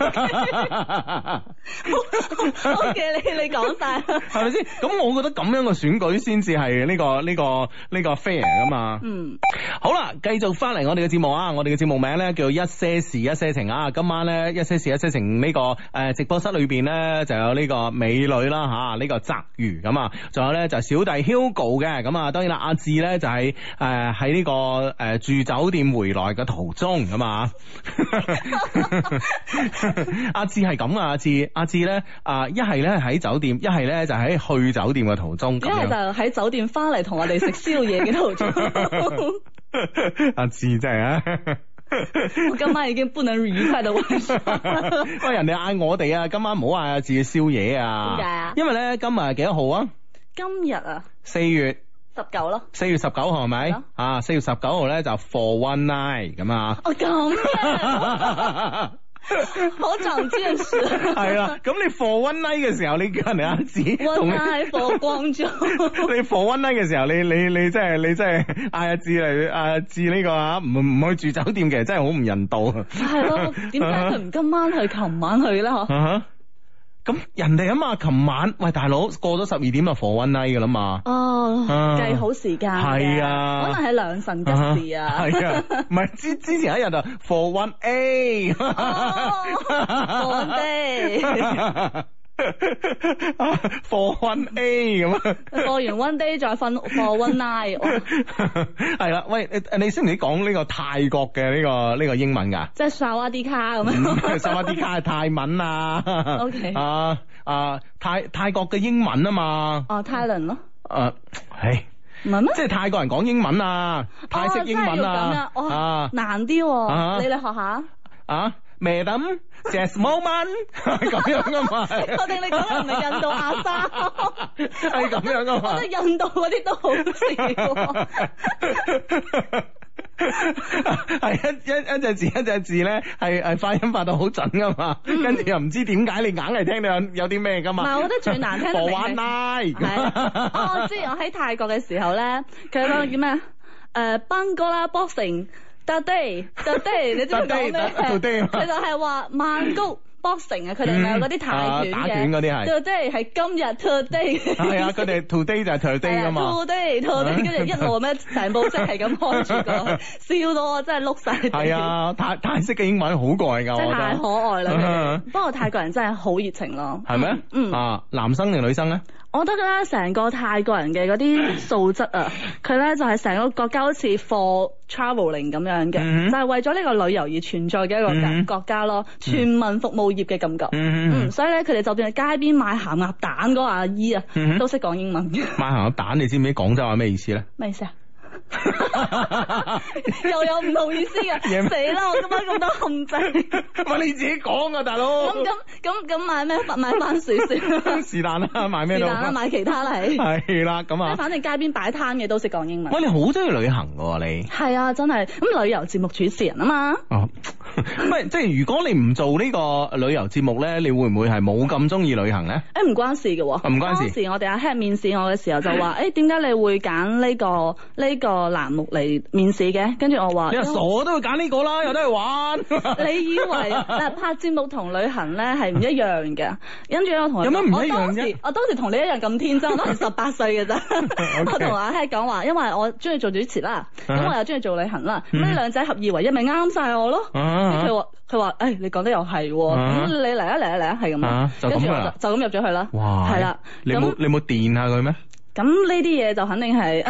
？O K 你你講晒係咪先？咁我覺得咁樣嘅選舉先至係呢個呢個呢個 fair 噶嘛。嗯，好啦，繼續翻嚟我哋嘅節目啊，我哋嘅節目名咧叫一些事一些情啊。今晚咧一些事一些情呢個誒直播室裏邊咧就有呢個美女啦吓，呢個澤瑜咁啊，仲有咧就小弟 Hugo 嘅，咁啊，當然啦，阿志咧就係誒喺呢個誒、呃、住酒店回來嘅途中咁啊。阿志係咁啊，阿志阿志咧啊，一係咧喺酒店，一係咧就喺去酒店嘅途中，一係就喺酒店翻嚟同我哋食宵夜嘅途中。 阿志真係啊！ 我今晚已經不能愉快到晚上。 喂，人哋嗌我哋啊，今晚唔好嗌阿志嘅宵夜啊。 點解啊？ 因為咧今日幾多號啊？ 今日啊， 四月十九咯。四月十九號係咪？啊，四月十九號咧就 for one night 咁啊。 哦咁嘅。好長見識。 係啦，咁你 for one night 嘅時候，你叫人哋阿志 ，one night for 光中。 你 for one night 嘅時候，你你你真係你真係嗌阿志嚟阿志呢個啊，唔唔去住酒店，其實真係好唔人道。 係咯，點解佢唔今晚去，琴晚去咧？嗬。 咁人哋啊嘛，琴晚喂大佬過咗十二點就 for one night 噶啦嘛。 哦，計、啊、好時間係啊， 可能係良辰吉時啊。 係啊，唔係之之前一日就 for one A， for one day。 for one A 咁啊， 過完 one day 再瞓 for one night。 係啦，喂，你你識唔識講呢個泰國嘅呢個呢個英文噶？ 即係薩瓦迪卡咁樣。 薩瓦迪卡係泰文啊。 O K。 啊啊泰泰國嘅英文啊嘛。 哦，泰倫咯。 誒，係。 唔係咩？ 即係泰國人講英文啊，泰式英文啊。 哦，啊，難啲。你嚟學下。啊？ Madam, just moment 咁樣噶嘛？ 我定你講嘅唔係印度阿沙， 係咁樣噶嘛？ 我覺得印度嗰啲都好笑。 係一一一隻字一隻字咧，係係發音發到好準噶嘛？嗯、跟住又唔知點解你硬係聽到有有啲咩噶嘛？ 唔係，我覺得最難聽。 For one night。 係。哦，我知我喺泰國嘅時候咧，佢嗰個叫咩？誒，班哥啦 boxing。Today, today，你知唔知講咩？佢就係話曼谷 boxing 啊，佢哋咪有嗰啲泰拳嘅， 打拳嗰啲係， 就即係係今日 today。 係啊，佢哋 today 就係 today 噶嘛。 today today，跟住一路咁樣成部即係咁開住過去，笑到我真係碌晒。係啊，泰泰式嘅英文好過癮㗎， 真係太可愛啦。不過泰國人真係好熱情咯。係咩？嗯啊，男生定女生咧？ 我覺得咧，成個泰國人嘅嗰啲素質啊，佢咧就係成個國家好似 for travelling 咁樣嘅，嗯、就係為咗呢個旅遊而存在嘅一個國、嗯、國家咯，全民服務業嘅感覺。嗯，嗯所以咧，佢哋就算係街邊賣鹹鴨蛋嗰個阿姨啊，嗯、都識講英文。賣鹹鴨蛋，你知唔知廣州話咩意思咧？ 咩意思啊？又有唔同意思嘅，死啦！我今晚咁多陷阱， 喂你自己講啊，大佬。 咁咁咁咁買咩？買番薯先。 是但啦，買咩都。 是但啦，買其他啦，係。 係啦，咁啊。 反正街邊擺攤嘅都識講英文。 喂，你好中意旅行噶喎，你。係啊，真係。咁旅遊節目主持人啊嘛。 哦。唔係，即係如果你唔做呢個旅遊節目咧，你會唔會係冇咁中意旅行咧？ 誒，唔關事嘅。唔關事。 當時我哋阿 Head 面試我嘅時候就話：誒，點解你會揀呢個呢個欄目嚟面試嘅？跟住我話：你話傻都會揀呢個啦，有得去玩。 你以為嗱拍節目同旅行咧係唔一樣嘅？跟住我同有乜唔一樣啫？ 我當時同你一樣咁天真，我當時十八歲嘅啫。我同阿 Head 講話，因為我中意做主持啦，咁我又中意做旅行啦，咁呢兩者合二為一，咪啱晒我咯。佢話佢話誒，你講得又係，咁你嚟啊嚟啊嚟啊，係咁。跟住我就就咁入咗去啦。 哇！係啦，你冇你冇電下佢咩？ 咁呢啲嘢就肯定係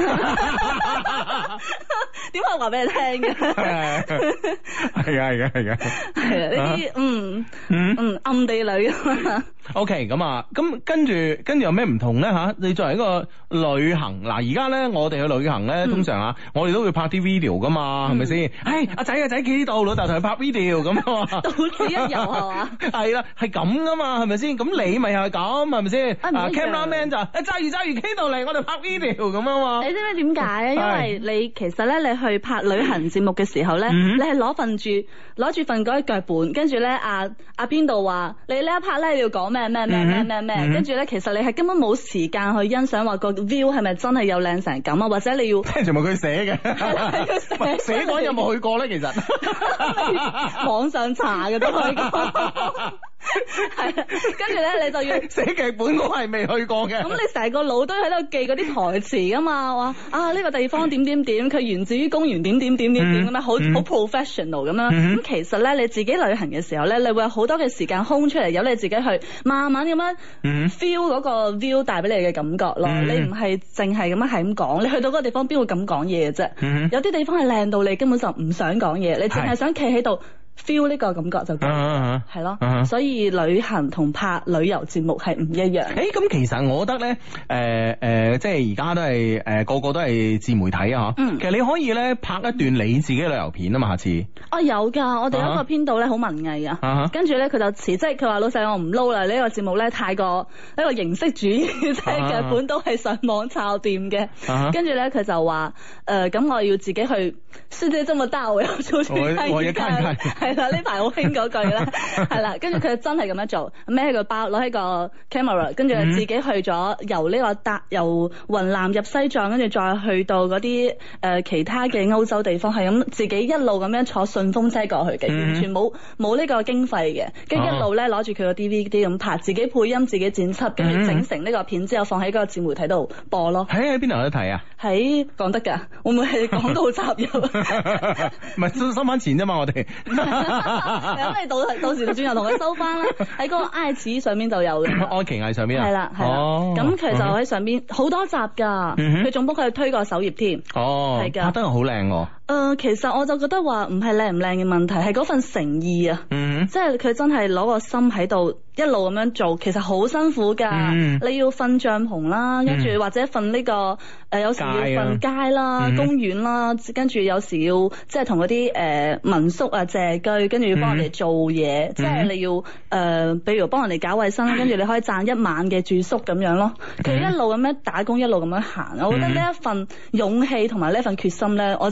點可以話俾你聽嘅？係啊係啊係啊係啊！ 係啊呢啲嗯嗯嗯暗地裏啊。 O K 咁啊，咁跟住跟住有咩唔同咧吓？你作為一個旅行嗱，而家咧我哋去旅行咧，通常啊，我哋都會拍啲 video 噶嘛，係咪先？誒，阿仔阿仔企呢度，老豆同佢拍 video 咁啊嘛， 到此一遊係嘛？ 係啦，係咁噶嘛，係咪先？咁你咪又係咁，係咪先？啊 camera man 就誒揸住揸住企度嚟，我哋拍 video 咁啊嘛。你知唔知點解啊？因為你其實咧，你去拍旅行節目嘅時候咧，你係攞份住攞住份嗰啲腳本，跟住咧阿阿邊度話你呢一 part 咧你要講咩咩咩咩咩咩，跟住咧其實你係根本冇時間去欣賞話個 view 係咪真係有靚成咁啊，或者你要聽全部佢寫嘅，佢寫寫嗰有冇去過咧？其實網上查嘅都可以講。係啊，跟住咧你就要寫劇本，我係未去過嘅。咁你成個腦都喺度記嗰啲台詞噶嘛？話啊呢個地方點點點，佢源自於公園點點點點點咁樣，好好 professional 咁樣。咁其實咧你自己旅行嘅時候咧，你會有好多嘅時間空出嚟，由你自己去慢慢咁樣 feel 嗰個 view 帶俾你嘅感覺咯。你唔係淨係咁樣係咁講，你去到嗰個地方邊會咁講嘢嘅啫？有啲地方係靚到你根本就唔想講嘢，你淨係想企喺度。feel 呢個感覺就夠，係咯，所以旅行同拍旅遊節目係唔一樣。誒，咁其實我覺得咧，誒誒，即係而家都係誒個個都係自媒體啊，嗬。其實你可以咧拍一段你自己嘅旅遊片啊嘛，下次。哦，有㗎，我哋有一個編導咧好文藝啊，跟住咧佢就辭職，佢話老細我唔撈啦，呢個節目咧太過一個形式主義，即係劇本都係上網抄掂嘅。跟住咧佢就話誒，咁我要自己去世界這麼大，我要出去看看。係啦，呢排好興嗰句啦，係啦，跟住佢真係咁樣做，孭起個包，攞起個 camera，跟住自己去咗由呢個搭由雲南入西藏，跟住再去到嗰啲誒其他嘅歐洲地方，係咁自己一路咁樣坐順風車過去嘅，完全冇冇呢個經費嘅，跟住一路咧攞住佢個 D V D 咁拍，自己配音，自己剪輯，跟住整成呢個片之後放喺嗰個自媒體度播咯。喺喺邊度有得睇啊？喺講得㗎，會唔會係廣告插入？唔係收收翻錢啫嘛，我哋。咁你到到時轉頭同佢收翻啦，喺嗰個愛奇藝上面就有嘅。愛奇藝上面啊？係啦係啦，咁佢就喺上邊好多集㗎，佢仲幫佢推過首頁添。哦，係㗎，拍得好靚喎。誒，其實我就覺得話唔係靚唔靚嘅問題，係嗰份誠意啊。嗯，即係佢真係攞個心喺度一路咁樣做，其實好辛苦㗎。你要瞓帳篷啦，跟住或者瞓呢個誒，有時要瞓街啦、公園啦，跟住有時要即係同嗰啲誒民宿啊借居，跟住要幫人哋做嘢，即係你要誒，比如幫人哋搞衛生，跟住你可以賺一晚嘅住宿咁樣咯。佢一路咁樣打工，一路咁樣行，我覺得呢一份勇氣同埋呢一份決心咧，我真係唔係。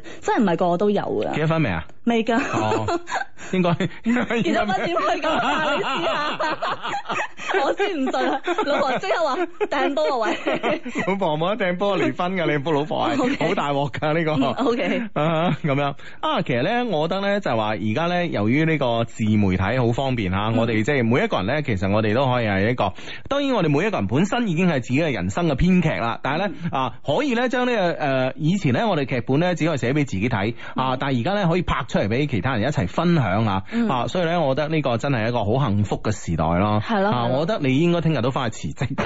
真係唔係個個都有㗎。 結咗婚未啊？ 未㗎。 哦，應該應該結咗婚點會咁啊？你試下，我先唔信啊！老婆即刻話掟波啊喂！ 老婆冇得掟波離婚㗎，你老婆係好大鑊㗎呢個。 O K 啊咁樣啊，其實咧，我覺得咧就係話而家咧，由於呢個自媒體好方便嚇，嗯、我哋即係每一個人咧，其實我哋都可以係一個。當然，我哋每一個人本身已經係自己嘅人生嘅編劇啦，但係咧、嗯、啊，可以咧將呢個誒以前咧我哋劇本咧只可以寫俾自己睇啊，但係而家咧可以拍出嚟俾其他人一齊分享啊，嗯、啊，所以咧，我覺得呢個真係一個好幸福嘅時代咯。係咯，啊，我覺得你應該聽日都翻去辭職。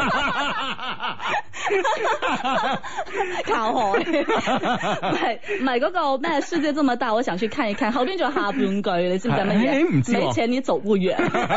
靠海，唔係唔係嗰個咩世界這麼大，我想去看一看。後邊仲有下半句，你知唔知乜嘢？ 唔知喎。 沒錢你走不遠。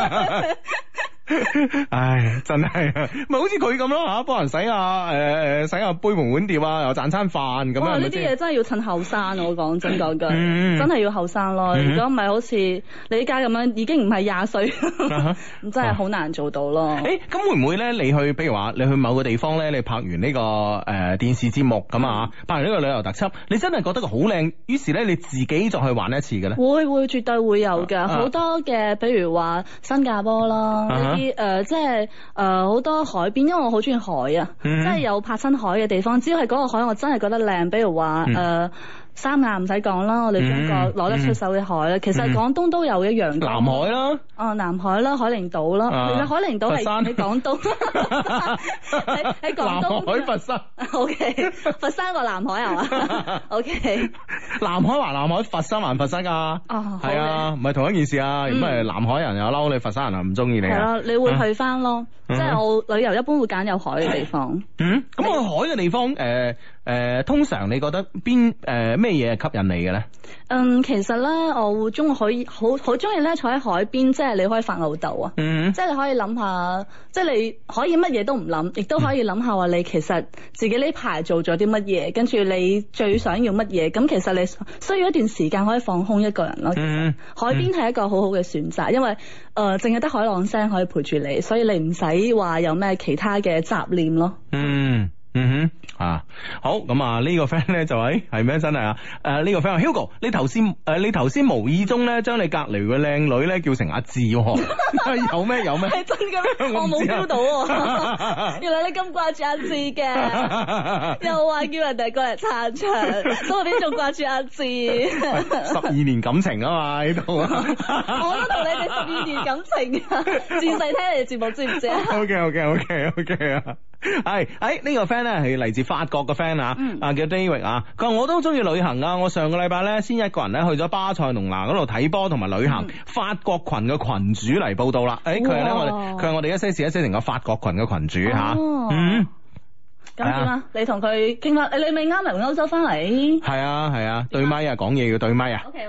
唉，真係咪好似佢咁咯吓，幫人洗下誒誒洗下杯盤碗碟啊，又賺餐飯咁樣。哇！ 呢啲嘢真係要趁後生，我講真講句，嗯、真係要後生咯。如果唔係，好似你依家咁樣，已經唔係廿歲，咁真係好難做到咯。 誒、欸，咁會唔會咧？你去，比如話你去某個地方咧，你拍完呢、這個誒、呃、電視節目咁啊，拍完呢個旅遊特輯，你真係覺得佢好靚，於是咧你自己再去玩一次嘅咧？會會絕對會有㗎，好、啊、多嘅，比如話新加坡啦。啊啲誒、呃、即係誒好多海邊，因為我好中意海啊，嗯、即係有拍親海嘅地方，只要係嗰個海，我真係覺得靚。比如話誒。嗯呃三亞唔使講啦，我哋中國攞得出手嘅海咧，嗯、其實廣東都有一樣嘅。南海啦，哦，南海啦，海陵島啦，啊、其實海陵島係喺廣東，喺喺廣東。南海佛山。O、okay, K， 佛山個南海係嘛？O K。南海還南海，佛山還佛山㗎。哦，係啊，唔係同一件事啊。如果係南海人又嬲你，佛山人又唔中意你。係啦、啊，你會去翻咯，嗯、即係我旅遊一般會揀有海嘅地方。嗯，咁我海嘅地方誒。呃誒、呃，通常你覺得邊誒咩嘢係吸引你嘅咧？嗯，其實咧，我會中意可以好好中意咧坐喺海邊，即係你可以發吽哣啊，嗯、即係你可以諗下，即係你可以乜嘢都唔諗，亦都可以諗下話你其實自己呢排做咗啲乜嘢，跟住你最想要乜嘢，咁其實你需要一段時間可以放空一個人咯。嗯、海邊係一個好好嘅選擇，因為誒淨係得海浪聲可以陪住你，所以你唔使話有咩其他嘅雜念咯。嗯。嗯哼，啊好咁啊呢個 friend 咧就係係咩真係啊？誒呢個 friend Hugo，你頭先誒你頭先無意中咧將你隔籬嘅靚女咧叫成阿志，有咩有咩？係真嘅咩？我冇 feel 到，原來你咁掛住阿志嘅，又話叫人哋過嚟撐場，所以我邊仲掛住阿志？十二年感情啊嘛喺度，我都同你哋十二年感情啊，自細聽你哋節目知唔知啊 ？OK OK OK OK 啊。係，誒呢個 friend 咧係嚟自法國嘅 friend 啊，啊叫 David 啊，佢話我都中意旅行啊，我上個禮拜咧先一個人咧去咗巴塞隆拿嗰度睇波同埋旅行，法國群嘅群主嚟報道啦，誒佢係咧我哋佢係我哋一些事一些情嘅法國群嘅群主吓，嗯。咁點啊？你同佢傾翻，你咪啱嚟歐洲翻嚟？係啊係啊，對咪啊，講嘢要對咪啊。OK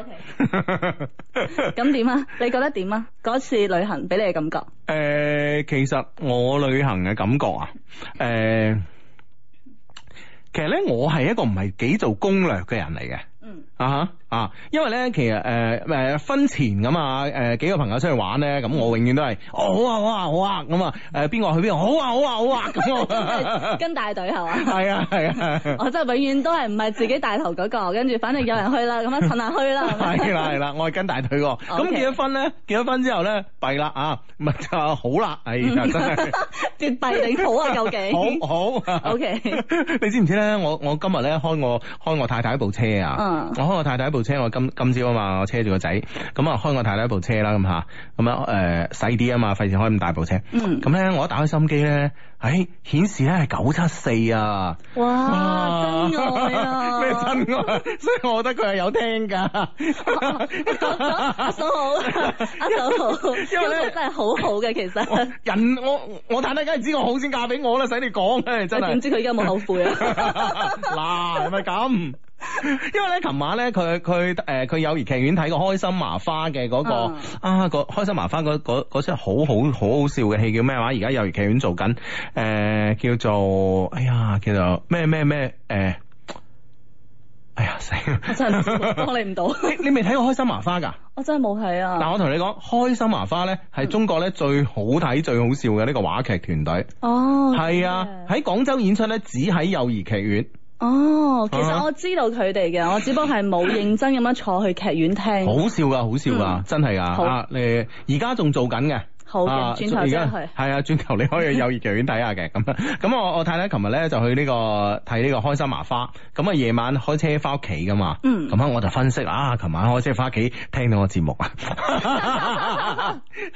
OK。咁點啊？你覺得點啊？嗰次旅行俾你嘅感覺？誒、呃，其實我旅行嘅感覺啊，誒、呃，其實咧我係一個唔係幾做攻略嘅人嚟嘅。嗯。啊哈。啊，因為咧，其實誒誒婚前咁啊，誒幾個朋友出去玩咧，咁我永遠都係哦好啊好啊好啊咁啊，誒邊個去邊個好啊好啊好啊咁，跟大隊係嘛？係啊係啊，我真係永遠都係唔係自己帶頭嗰個，跟住反正有人去啦，咁啊趁下去啦。係啦係啦，我係跟大隊個。咁結咗婚咧，結咗婚之後咧，弊啦啊，咪就好啦，哎呀真係絕弊定好啊究竟？好好。O K，你知唔知咧？我我今日咧開我開我太太一部車啊，我開我太太一部。車我今今朝啊嘛，我車住個仔，咁啊開我太太一部車啦，咁吓，咁樣誒細啲啊嘛，費事開咁大部車。嗯。咁咧我一打開心機咧，誒顯示咧係九七四啊。哇！哇真愛啊！咩真愛？所以我覺得佢係有聽噶。阿嫂好，阿嫂好，因為咧真係好好嘅其實。人我我太太梗係知我好先嫁俾我啦，使你講咧真係。點知佢而家冇後悔啊？嗱係咪咁？因為咧，琴晚咧，佢佢誒，佢友誼劇院睇個開心麻花嘅嗰、那個、uh. 啊個開心麻花嗰嗰嗰出好好好好笑嘅戲叫咩話？而家友誼劇院做緊誒、呃，叫做哎呀，叫做咩咩咩誒，哎呀死！我真係幫你唔到。你你未睇過開心麻花噶？我真係冇睇啊！嗱，我同你講，開心麻花咧係中國咧最好睇、最好笑嘅呢個話劇團隊。哦，係啊，喺廣州演出咧，只喺友誼劇院。 哦，其實我知道佢哋嘅，我只不過係冇認真咁樣坐去劇院聽。 好笑噶，好笑噶，真係噶。啊，你而家仲做緊嘅。 好嘅，轉頭先去。係啊，轉頭你可以有劇院睇下嘅咁。咁我我太太琴日咧就去呢個睇呢個開心麻花，咁啊夜晚開車翻屋企噶嘛。嗯。咁啊我就分析啊，琴晚開車翻屋企聽到個節目啊。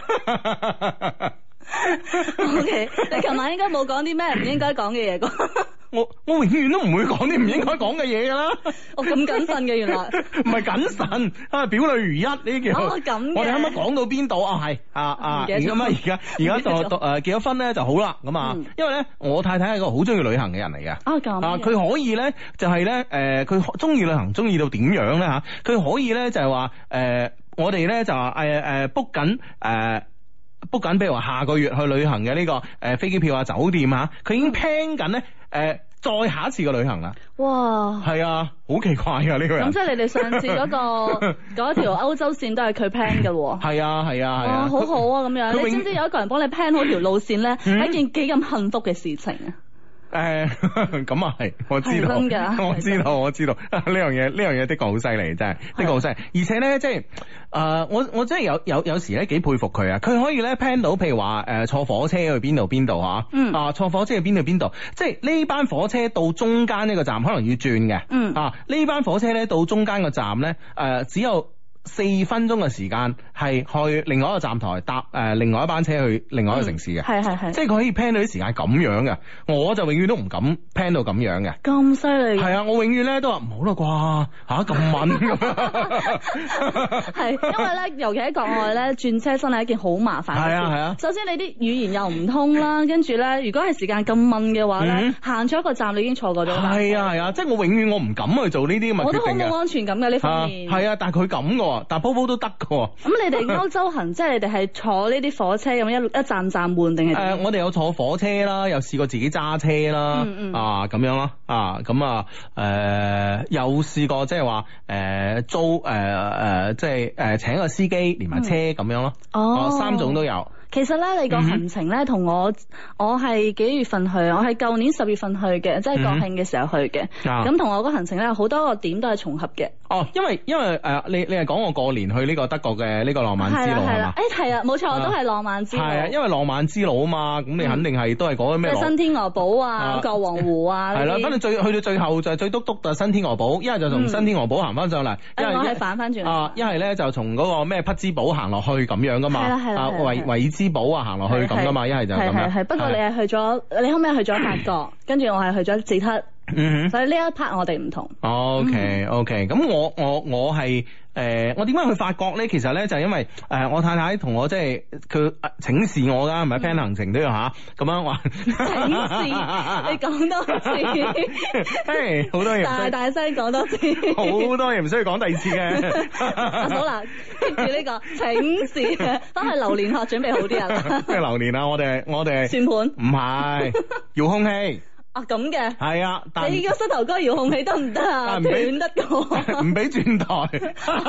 O K， 你琴晚應該冇講啲咩唔應該講嘅嘢啩？ 我我永遠都唔會講啲唔應該講嘅嘢噶啦。 我咁謹慎嘅原來。唔係謹慎啊，表裏如一呢啲叫。 哦咁嘅。 我哋啱啱講到邊度啊？係啊啊，咁啊而家而家就誒結咗婚咧就好啦咁啊，因為咧我太太係個好中意旅行嘅人嚟嘅。啊咁。啊佢可以咧就係咧誒佢中意旅行中意到點樣咧吓？佢可以咧就係話誒我哋咧就話誒誒 book 緊誒。book 緊，譬如話下個月去旅行嘅呢、這個誒、呃、飛機票啊、酒店啊，佢已經 plan 緊咧誒再下一次嘅旅行啦。哇！係啊，好奇怪啊呢個人。咁即係你哋上次嗰、那個嗰條歐洲線都係佢 plan 嘅喎。係啊係啊係啊。哇，好好啊咁樣。永你知唔知有一個人幫你 plan 好條路線咧，係、嗯、一件幾咁幸福嘅事情啊？誒，咁啊係，我知道，我知道，我知道呢樣嘢，呢樣嘢的確好犀利，真係的確好犀利。而且咧，即係誒，我我真係有有有時咧幾佩服佢啊！佢可以咧 plan 到，譬如話誒、呃、坐火車去邊度邊度吓，嗯啊坐火車去邊度邊度，即係呢班火車到中間呢個站可能要轉嘅，嗯啊呢班火車咧到中間個站咧誒、呃、只有四分鐘嘅時間係去另外一個站台搭誒、呃、另外一班車去另外一個城市嘅，係係係，即係佢可以 plan 到啲時間咁樣嘅，我就永遠都唔敢 plan 到咁樣嘅。咁犀利？係啊，我永遠咧都話唔好啦啩吓咁敏咁。係因為咧，尤其喺國外咧轉車真係一件好麻煩嘅事。係啊係啊。首先你啲語言又唔通啦，跟住咧如果係時間咁敏嘅話咧，行咗、嗯、一個站你已經錯過咗。係啊係啊，即係我永遠我唔敢去做呢啲咁嘅決定嘅。我都好冇安全感嘅呢方面。係啊，但係佢咁嘅。但波波都得㗎喎。咁你哋歐洲行，即係你哋係坐呢啲火車咁一一站站換定係？誒、呃，我哋有坐火車啦，又試過自己揸車啦，嗯嗯啊咁樣咯，啊咁啊誒，有試過即係話誒租誒誒、呃，即係誒、呃、請個司機連埋車咁樣咯。哦，三種都有。其實咧，你個行程咧同我，我係幾月份去？我係舊年十月份去嘅，即係國慶嘅時候去嘅。咁同、嗯、我個行程咧，好多個點都係重合嘅。哦，因為因為誒、呃，你你係講我過年去呢個德國嘅呢個浪漫之路係嘛？誒係啊，冇錯，我都係浪漫之路。係啊，因為浪漫之路啊嘛，咁你肯定係都係講咩？即係新天鵝堡啊，國王湖啊。係啦，反正最去到最後就係最篤篤就新天鵝堡，一係就從新天鵝堡行翻上嚟，一係反翻轉啊，一係咧就從嗰個咩匹茲堡行落去咁樣噶嘛。係啦係啦。啊維維茲堡啊行落去咁噶嘛，一係就咁樣。係係係，不過你係去咗，你後尾去咗法國，跟住我係去咗捷克。嗯，所以呢一 part 我哋唔同。OK OK，咁我我我係誒，我點解去法國咧？其實咧就係因為誒，我太太同我即係佢請示我噶，唔係 plan 行程都要吓咁樣話。請示，你講多次。誒，好多嘢。大大聲講多次。好多嘢唔需要講第二次嘅。好啦，跟住呢個請示，翻去榴蓮學準備好啲啊。咩榴蓮啊？我哋我哋。算盤。唔係，遙控器。啊咁嘅，係啊，但你個膝頭哥遙控器得唔得啊？斷得個，唔俾轉台。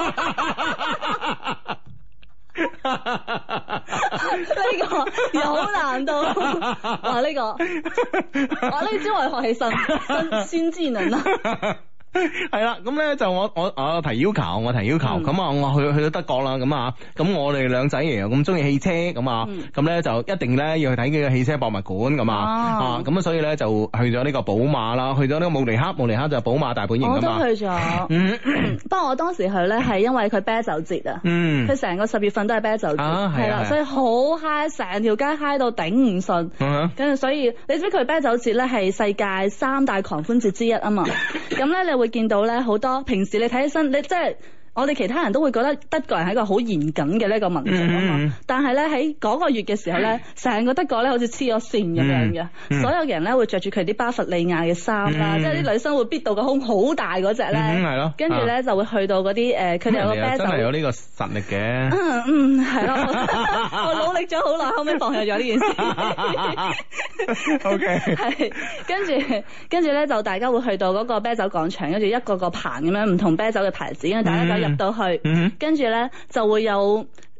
呢個有難度，哇！呢、這個，哇！呢招我學起身，新新技能啊！係啦，咁咧就我我我提要求，我提要求，咁啊、嗯、我去去到德國啦，咁啊，咁我哋兩仔爺又咁中意汽車，咁啊，咁咧、嗯、就一定咧要去睇幾個汽車博物館，咁啊，啊，咁啊所以咧就去咗呢個寶馬啦，去咗呢個慕尼黑，慕尼黑就係寶馬大本營噶嘛。我都去咗，嗯，不過我當時去咧係因為佢啤酒節啊，嗯，佢成個十月份都係啤酒節，係啦、啊，所以好嗨，成條街嗨到頂唔順，跟住、嗯、所以你知佢啤酒節咧係世界三大狂歡節之一啊嘛，咁咧你會見到咧好多平時你睇起身，你即係我哋其他人都會覺得德國人係一個好嚴謹嘅呢個民族啊嘛，嗯、但係咧喺嗰個月嘅時候咧，成個德國咧好似黐咗線咁樣嘅，嗯、所有嘅人咧會着住佢啲巴伐利亞嘅衫啦，嗯、即係啲女生會逼到個胸好大嗰隻咧，係咯、嗯，跟住咧就會去到嗰啲誒，佢哋有個啤酒，真係有呢個實力嘅，嗯嗯係咯，我努力咗好耐，後尾放棄咗呢件事。O K， 係跟住跟住咧就大家會去到嗰個啤酒廣場，跟住一個個棚咁樣唔同啤酒嘅牌子，跟住大家就入到去，跟住咧就會有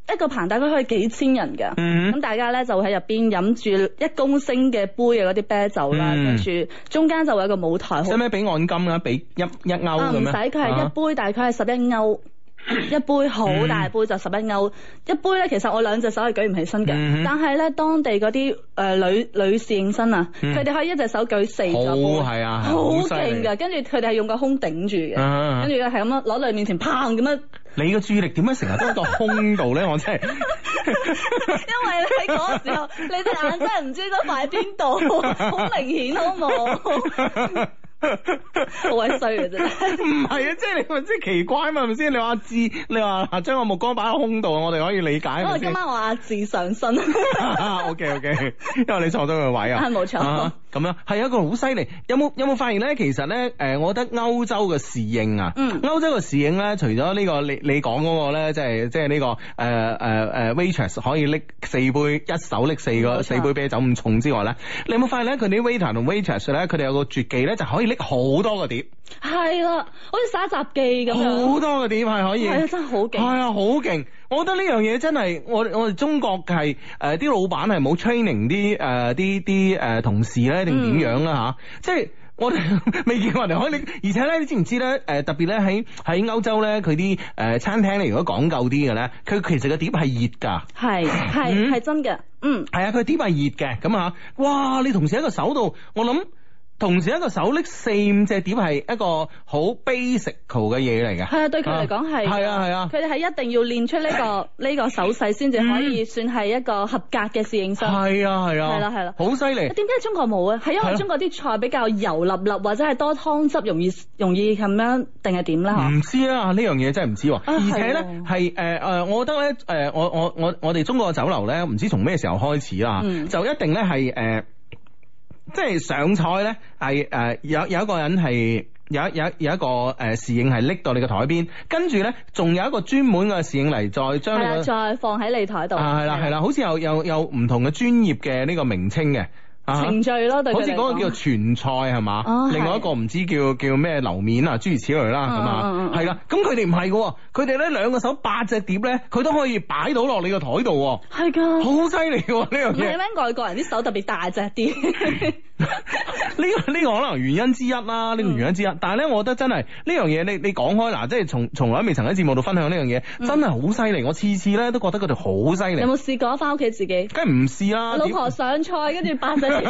一個棚大概可以幾千人㗎。咁、嗯、大家咧就喺入邊飲住一公升嘅杯嘅嗰啲啤酒啦，跟住、嗯、中間就會有一個舞台。使唔使俾按金啊？俾一一歐咁樣？唔使，佢係一杯大概係十一歐。一杯好大杯就十一歐，一杯咧其實我兩隻手係舉唔起身嘅，嗯、但係咧當地嗰啲誒女女侍應生啊，佢哋、嗯、可以一隻手舉四個杯，好係啊，好勁噶，跟住佢哋係用個胸頂住嘅，跟住咧係咁樣攞到你面前砰咁樣。你個注意力點解成日都喺個胸度咧？我真係，因為咧喺嗰個時候，你隻眼真係唔知應該擺邊度，好明顯好冇。好鬼衰嘅啫，唔係啊，即係你咪即係奇怪嘛，係咪先？你話阿志，你話將個目光擺喺胸度，我哋可以理解。因為今晚我阿志上身。O K O K， 因為你坐咗個位啊。係冇錯。咁樣係一個好犀利。有冇有冇發現咧？其實咧，誒，我覺得歐洲嘅侍應啊，嗯，歐洲嘅侍應咧，除咗呢個你你講嗰個咧，即係即係呢個誒誒誒 waitress 可以拎四杯，一手拎四個四杯啤酒咁重之外咧，你有冇發現咧？佢啲 waiter 同 waitress 咧，佢哋有個絕技咧，就可以拎好多個碟。係啦，好似耍雜技咁樣。好多個碟係可以。係啊，真係好勁。係啊，好勁。我覺得呢樣嘢真係，我我哋中國係誒啲老闆係冇 training 啲誒啲啲誒同事咧，定點樣啦吓？即係我哋未見過人哋可以，而且咧，你知唔知咧？誒、呃、特別咧喺喺歐洲咧，佢啲誒餐廳咧，如果講究啲嘅咧，佢其實個碟係熱㗎。係係係真嘅，嗯。係啊，佢碟係熱嘅，咁啊，哇！你同時喺個手度，我諗。同時一個手拎四五隻碟係一個好 basic 嘅嘢嚟嘅。係啊，對佢嚟講係。係啊係啊，佢哋係一定要練出呢、這個呢個手勢先至可以算係一個合格嘅侍應生。係啊係啊。係啦係啦，好犀利。點解中國冇啊？係因為中國啲菜比較油粒粒或者係多湯汁，容易容易咁樣定係點啦？唔知啊，呢樣嘢真係唔知。啊、而且咧係誒誒，我覺得咧誒、呃，我我我我哋中國嘅酒樓咧，唔知從咩時候開始啦，嗯、就一定咧係誒。呃即係上菜咧，係誒、呃、有有一個人係有有有一個誒侍應係拎到你個台邊，跟住咧仲有一個專門嘅侍應嚟再將你再放喺你台度。啊係啦係啦，好似有有有唔同嘅專業嘅呢個名稱嘅。程序咯，對佢嚟講好似嗰個叫傳菜係嘛，哦、另外一個唔知叫叫咩樓面啊，諸如此類啦，係嘛，係啦。咁佢哋唔係嘅，佢哋咧兩個手八隻碟咧，佢都可以擺到落你個台度。係噶的，好犀利嘅呢樣嘢。唔係咩？外國人啲手特別大隻啲。呢個呢個可能原因之一啦，呢、呢個原因之一。嗯、但係咧，我覺得真係呢樣嘢，你你講開嗱，即係從從來未曾喺節目度分享呢樣嘢，嗯、真係好犀利。我次次咧都覺得佢哋好犀利。有冇試過翻屋企自己？梗係唔試啦。老婆上菜，跟住八隻。你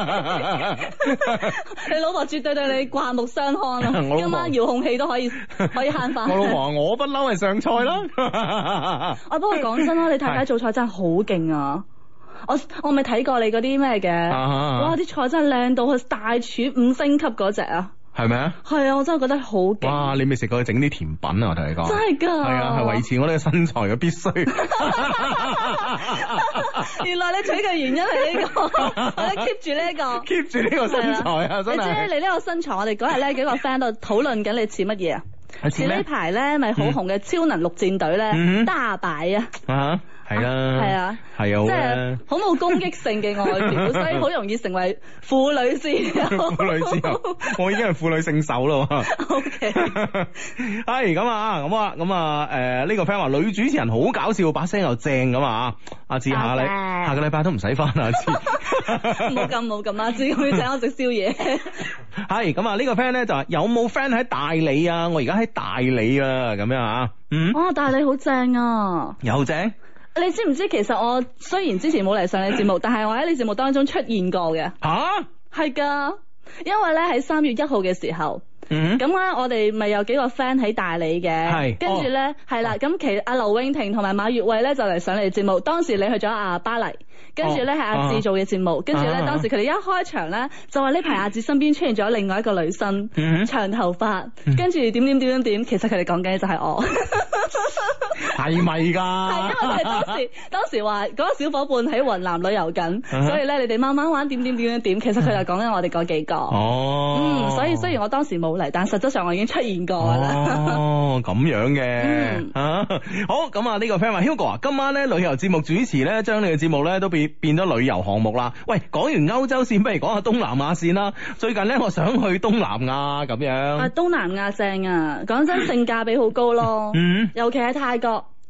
老婆絕對對你刮目相看啊！今晚遙控器都可以可以慳翻。我老婆我不嬲係上菜啦。啊，不過講真啦，你太太做菜真係好勁啊！我我咪睇過你嗰啲咩嘅，哇！啲菜真係靚到去大廚五星級嗰隻啊！係咪啊？係啊！我真係覺得好勁。哇！你未食過佢整啲甜品啊？我同你講，真係噶。係啊，係維持我呢個身材嘅必須。原來你取嘅原因係呢、這個，我咧 keep 住呢一個，keep 住呢個身材啊！真係。你知你呢個身材，我哋嗰日咧幾個 friend 度討論緊，你似乜嘢啊？似呢排咧咪好紅嘅超能陸戰隊咧，嗯、大白啊！啊！係啦，係啊，係啊，即係好冇攻擊性嘅外表，所以好容易成為婦女之友。婦女之友，我已經係婦女聖手咯。O K，係咁啊，咁啊，咁啊，誒，呢個 friend 話女主持人好搞笑，把聲又正咁啊，阿志下禮下個禮拜都唔使翻啊，志。冇咁冇咁啊，志可以請我食宵夜。係咁啊，呢個 friend 咧就話有冇 friend 喺大理啊？我而家喺大理啊，咁樣啊。嗯。哦，大理好正啊。又正。你知唔知其實我雖然之前冇嚟上你節目，但係我喺你節目當中出現過嘅。吓、啊？係噶，因為咧喺三月一號嘅時候，嗯，咁咧我哋咪有幾個 friend 喺大理嘅，係，跟住咧係啦，咁其實阿劉永婷同埋馬月慧咧就嚟上你節目，當時你去咗阿巴黎。跟住咧係阿志做嘅節目，跟住咧當時佢哋一開場咧就話呢排阿志身邊出現咗另外一個女生，嗯、長頭髮，跟住點點點點點，其實佢哋講緊嘅就係我，係咪噶？係因為佢哋當時當時話嗰個小伙伴喺雲南旅遊緊，嗯、所以咧你哋慢慢玩點點點點點，其實佢就講緊我哋嗰幾個。哦，嗯，所以雖然我當時冇嚟，但實質上我已經出現過啦。哦，咁樣嘅，嗯、啊，好，咁啊呢個 friend 話 Hugo 啊，今晚咧旅遊節目主持咧，將你嘅節目咧都變變咗旅遊項目啦。喂，講完歐洲線，不如講下東南亞線啦。最近咧，我想去東南亞咁樣。啊，東南亞正啊，講真，性價比好高咯。嗯，尤其係泰國。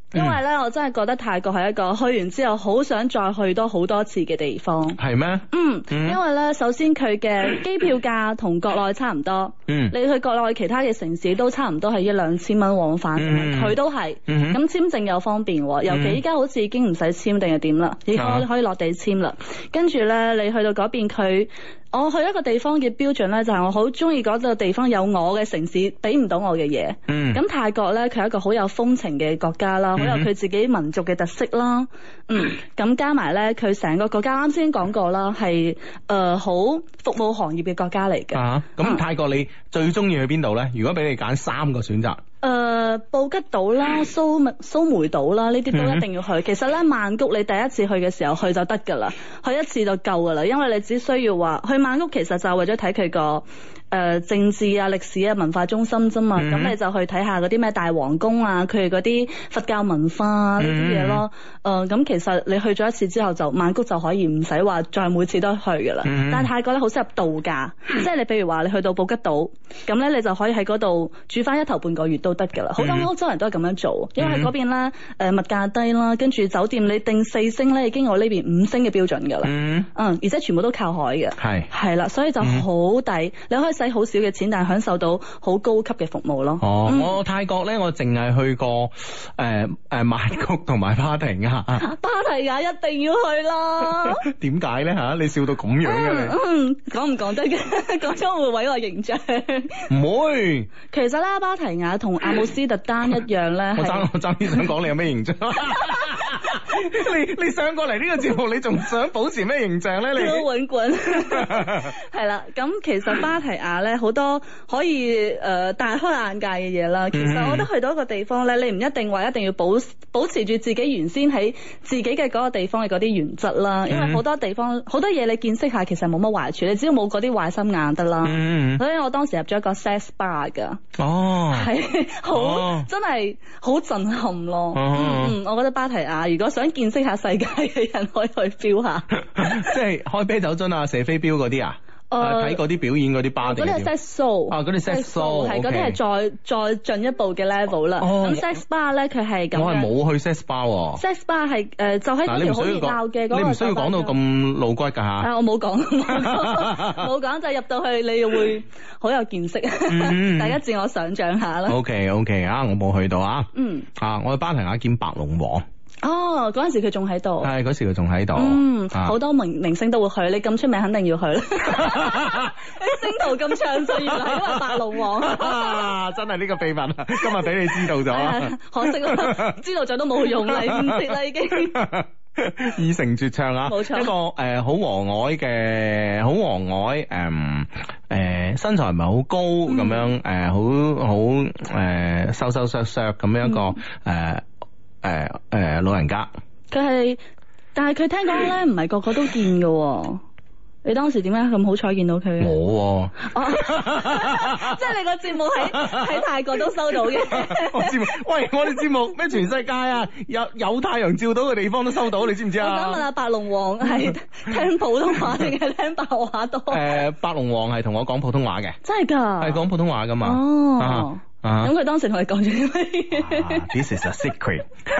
因為咧，我真係覺得泰國係一個去完之後好想再去多好多次嘅地方。 係咩？ 嗯，嗯因為咧，首先佢嘅機票價同國內差唔多。嗯，你去國內其他嘅城市都差唔多係一兩千蚊往返，佢、嗯、都係。咁、嗯、簽證又方便，尤其依家好似已經唔使簽定係點啦，已經可以落地簽啦。跟住咧，你去到嗰邊佢。我去一個地方嘅標準咧，就係我好中意嗰個地方有我嘅城市俾唔到我嘅嘢。嗯，咁泰國咧，佢係一個好有風情嘅國家啦，好、嗯、有佢自己民族嘅特色啦。嗯，咁加埋咧，佢成個國家啱先講過啦，係誒好服務行業嘅國家嚟嘅。啊，咁泰國你最中意去邊度咧？如果俾你揀三個選擇。 誒、呃，布吉島啦、蘇梅蘇梅島啦，呢啲都一定要去。嗯、其實咧，曼谷你第一次去嘅時候去就得噶啦，去一次就夠噶啦，因為你只需要話去曼谷，其實就係為咗睇佢個誒政治啊、歷史啊、文化中心啫嘛。咁、嗯、你就去睇下嗰啲咩大皇宮啊，佢哋嗰啲佛教文化啊呢啲嘢咯。誒、嗯，咁、呃、其實你去咗一次之後就，就曼谷就可以唔使話再每次都去噶啦。嗯、但係泰國咧好適合度假，嗯、即係你譬如話你去到布吉島，咁咧你就可以喺嗰度住翻一頭半個月都得噶啦。好多歐洲人都係咁樣做，因為喺嗰邊咧誒物價低啦，跟住酒店你訂四星咧已經有呢邊五星嘅標準噶啦。嗯，嗯，而且全部都靠海嘅。係係啦，所以就好抵，嗯、你可以使好少嘅錢，但係享受到好高級嘅服務咯。 哦，嗯、我泰國咧，我淨係去過誒誒曼谷同埋芭提雅。 芭提雅一定要去啦。點解咧吓？你笑到咁樣嘅你？ 嗯，講唔講得嘅？講咗會毀我形象。 唔會。 其實咧，芭提雅同阿姆斯特丹一樣咧。我爭我爭啲想講你有咩形象？你你上過嚟呢個節目，你仲想保持咩形象咧？你都滾滾。係啦，咁其實芭提雅咧好多可以誒、呃、大開眼界嘅嘢啦。其實我覺得去到一個地方咧，你唔一定話一定要保保持住自己原先喺自己嘅嗰個地方嘅嗰啲原則啦。因為好多地方好多嘢你見識下，其實冇乜壞處，你只要冇嗰啲壞心眼得啦。嗯、所以我當時入咗一個 sex bar 噶。哦，係好、哦、真係好震撼咯。哦、嗯，我覺得芭提雅如果想見識下世界嘅人，可以去 feel 下。 即係開啤酒樽啊、射飛鏢嗰啲啊。誒，睇嗰啲表演嗰啲巴定，嗰啲係 sex show， 啊，嗰啲 sex show， 係嗰啲係再再進一步嘅 level 啦。咁 sex bar 咧，佢係咁。我係冇去 sex bar。 sex bar 係誒，就喺嗰條好熱鬧嘅嗰個。 你唔需要講到咁露骨㗎嚇。 啊，我冇講，冇講就入到去，你會好有見識。大家自我想像下啦。 OK OK 啊，我冇去到啊。嗯。啊，我去芭提雅見白龍王。 哦，嗰陣時佢仲喺度， 係嗰時佢仲喺度。 嗯，好、啊、多明明星都會去，你咁出名肯定要去啦。你星途咁暢順，原來係因為白龍王。 啊，真係呢個秘密，今日俾你知道咗、 哎。可惜啦，知道咗都冇用啦，唔切啦已經。 已成絕唱啊！冇錯，一個誒好和藹嘅，好和藹誒誒身材唔係好高咁、嗯、樣，誒好好誒瘦瘦削削咁樣一個誒。嗯呃誒誒、呃，老人家， 佢係，但係佢聽講咧，唔係個個都見嘅。你當時點解咁好彩見到佢？ 冇， 即係你個節目喺喺泰國都收到嘅。 我節目，喂，我哋節目咩全世界啊，有有太陽照到嘅地方都收到，你知唔知啊？ 我想問下白龍王係聽普通話定係聽白話多？誒、 呃，白龍王係同我講普通話嘅， 真係噶， 係講普通話噶嘛？ 哦。啊咁佢、uh huh. 當時同你講咗啲乜嘢 ？This is a secret。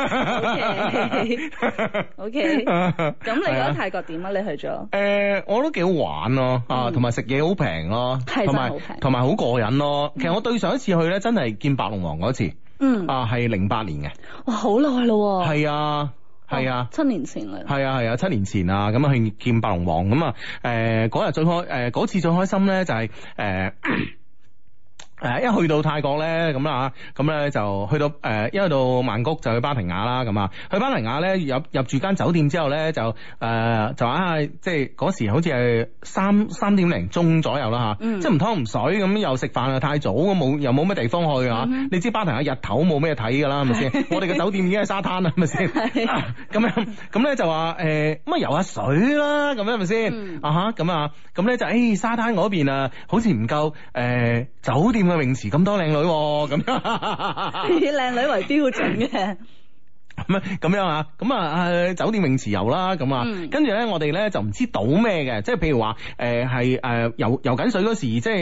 O K。咁你覺得泰國點啊？你去咗？誒、 呃，我都幾好玩咯，啊，同埋食嘢好平咯， 係真係好平， 同埋好過癮咯。其實我對上一次去咧，真係見白龍王嗰次，嗯，啊，係零八年嘅。 哇，好耐咯。係啊。係啊， 七年前啦。 係啊係啊，七年前啊，咁啊去見白龍王咁啊，誒嗰日最開誒嗰次最開心咧就係、是、誒。呃誒，一去到泰國咧，咁啊，咁咧就去到誒，一去到曼谷就去芭提雅啦，咁啊，去芭提雅咧入入住間酒店之後咧，就誒、呃、就啊，即係嗰時好似係三三點零鐘左右啦吓，嗯、即係唔湯唔水咁，又食飯又太早，咁冇又冇乜地方去啊，嗯、你知芭提雅日頭冇咩睇噶啦，係咪先？我哋嘅酒店已經係沙灘啦，係咪先？咁樣咁咧就話誒，咁啊游下水啦，咁樣係咪先？嗯、啊吓，咁啊，咁咧就誒、欸、沙灘嗰邊啊，好似唔夠誒酒店嘅泳池咁多靚女咁樣， 以靚女為標準嘅。 咁咁樣啊，咁啊酒店泳池游啦，咁啊，嗯、跟住咧我哋咧就唔知賭咩嘅，即係譬如話誒係誒游游緊水嗰時，即係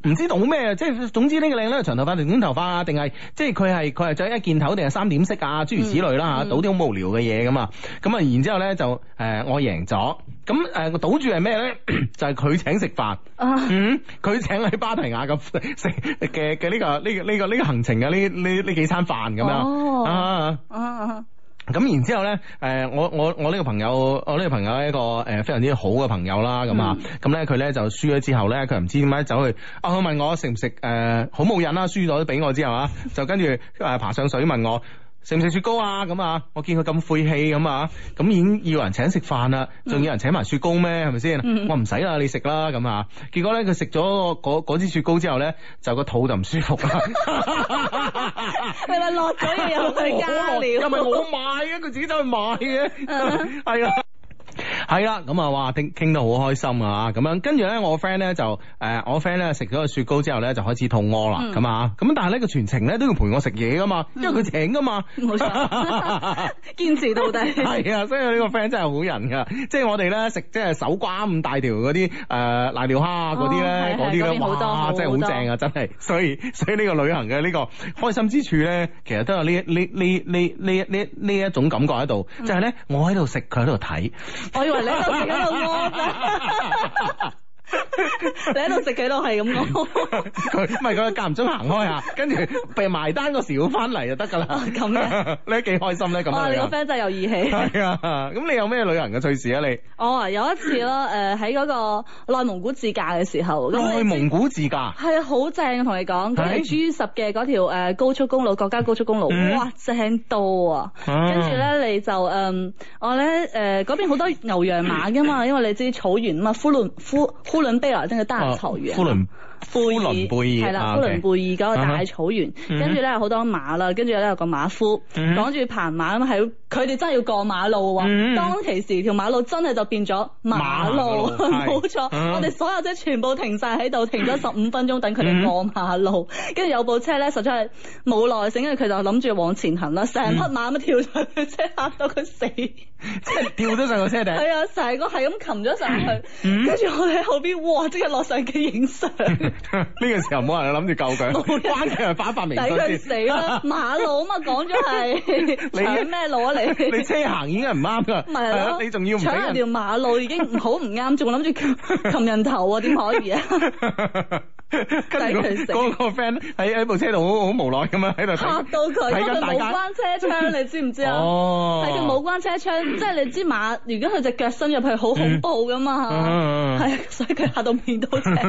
唔知道咩，即係總之呢個靚咧長頭髮定短頭髮啊，定係即係佢係佢係着一件頭定係三點式啊，諸如此類啦嚇，賭啲好無聊嘅嘢咁啊，咁啊然之後咧就誒、呃、我贏咗，咁誒個賭注係咩咧？就係佢請食飯，嗯，佢請喺芭提雅咁食嘅嘅呢個呢個呢個呢個行程嘅呢呢呢幾餐飯咁樣哦啊啊！咁然之後咧，誒我我我呢個朋友，我呢個朋友係一個誒非常之好嘅朋友啦，咁啊，咁咧佢咧就輸咗之後咧，佢唔知點解走去啊，佢問我食唔食誒好冇癮啦，輸咗都俾我之後啊，就跟住誒爬上水問我。食唔食雪糕啊？咁啊，我見佢咁晦氣咁啊，咁已經要人請食飯啦，仲要人請埋雪糕咩？係咪先？嗯、我唔使啦，你食啦咁啊。結果咧，佢食咗嗰支雪糕之後咧，就個肚就唔舒服啦。 係咪落咗嘢入去加料？ 又唔係我買嘅，佢自己走去買嘅，係啊。係啦，咁啊，哇，傾傾得好開心啊，咁樣，跟住咧，我 friend 咧就誒、呃，我 friend 咧食咗個雪糕之後咧就開始肚屙啦，咁啊、嗯，咁但係呢個全程咧都要陪我食嘢噶嘛，因為佢請噶嘛， 冇錯，堅持到底。 係啊，所以呢個 friend 真係好人噶，即係我哋咧食即係手瓜咁大條嗰啲誒瀨尿蝦嗰啲咧，嗰啲咧哇，真係好正啊，真係，所以所以呢個旅行嘅呢個開心之處咧，其實都有呢呢呢呢呢呢呢一種感覺喺度，就係、是、咧我喺度食，佢喺度睇。 我以為你喺度食喺度屙咋，你喺度食佢都係咁屙。 佢唔係佢間唔中行開下，跟住被埋單嗰時要翻嚟就得噶啦。 咁嘅， 你幾開心咧？咁啊，你個 friend 真係有義氣。 係啊，咁你有咩旅行嘅趣事啊？你我啊有一次咯，誒喺嗰個內蒙古自駕嘅時候， 內蒙古自駕係啊，好正啊！同你講，佢係 G 十嘅嗰條誒高速公路，國家高速公路，哇，正到啊！跟住咧，你就誒我咧誒嗰邊好多牛羊馬噶嘛，因為你知草原啊嘛，呼倫呼呼倫貝爾真係大草原。呼倫貝爾係啦，呼倫貝爾嗰個大草原，跟住咧有好多馬啦，跟住咧有個馬夫講住棚馬咁，係佢哋真係要過馬路喎。當其時條馬路真係就變咗馬路，冇錯。我哋所有車全部停晒喺度，停咗十五分鐘等佢哋過馬路。跟住有部車咧，實在係冇耐性，跟住佢就諗住往前行啦，成匹馬咁跳上去車，嚇到佢死，即係跳咗上個車頂。 係啊，成個係咁擒咗上去，跟住我哋喺後邊，哇！即刻落相機影相。 呢個時候冇人諗住救佢，關鍵係發發微信先。 抵佢死啦！馬路啊嘛，講咗係搶咩路啊你？ 你車行已經係唔啱噶， 係啊， 你仲要唔俾人搶條馬路已經好唔啱，仲諗住擒人頭啊？點可以啊？ 跟住嗰個 friend 喺喺部車度好好無奈咁樣喺度嚇到佢，因為佢冇關車窗，你知唔知啊？哦，係佢冇關車窗，即係你知馬，如果佢隻腳伸入去，好恐怖噶嘛，係啊，所以佢嚇到面都青。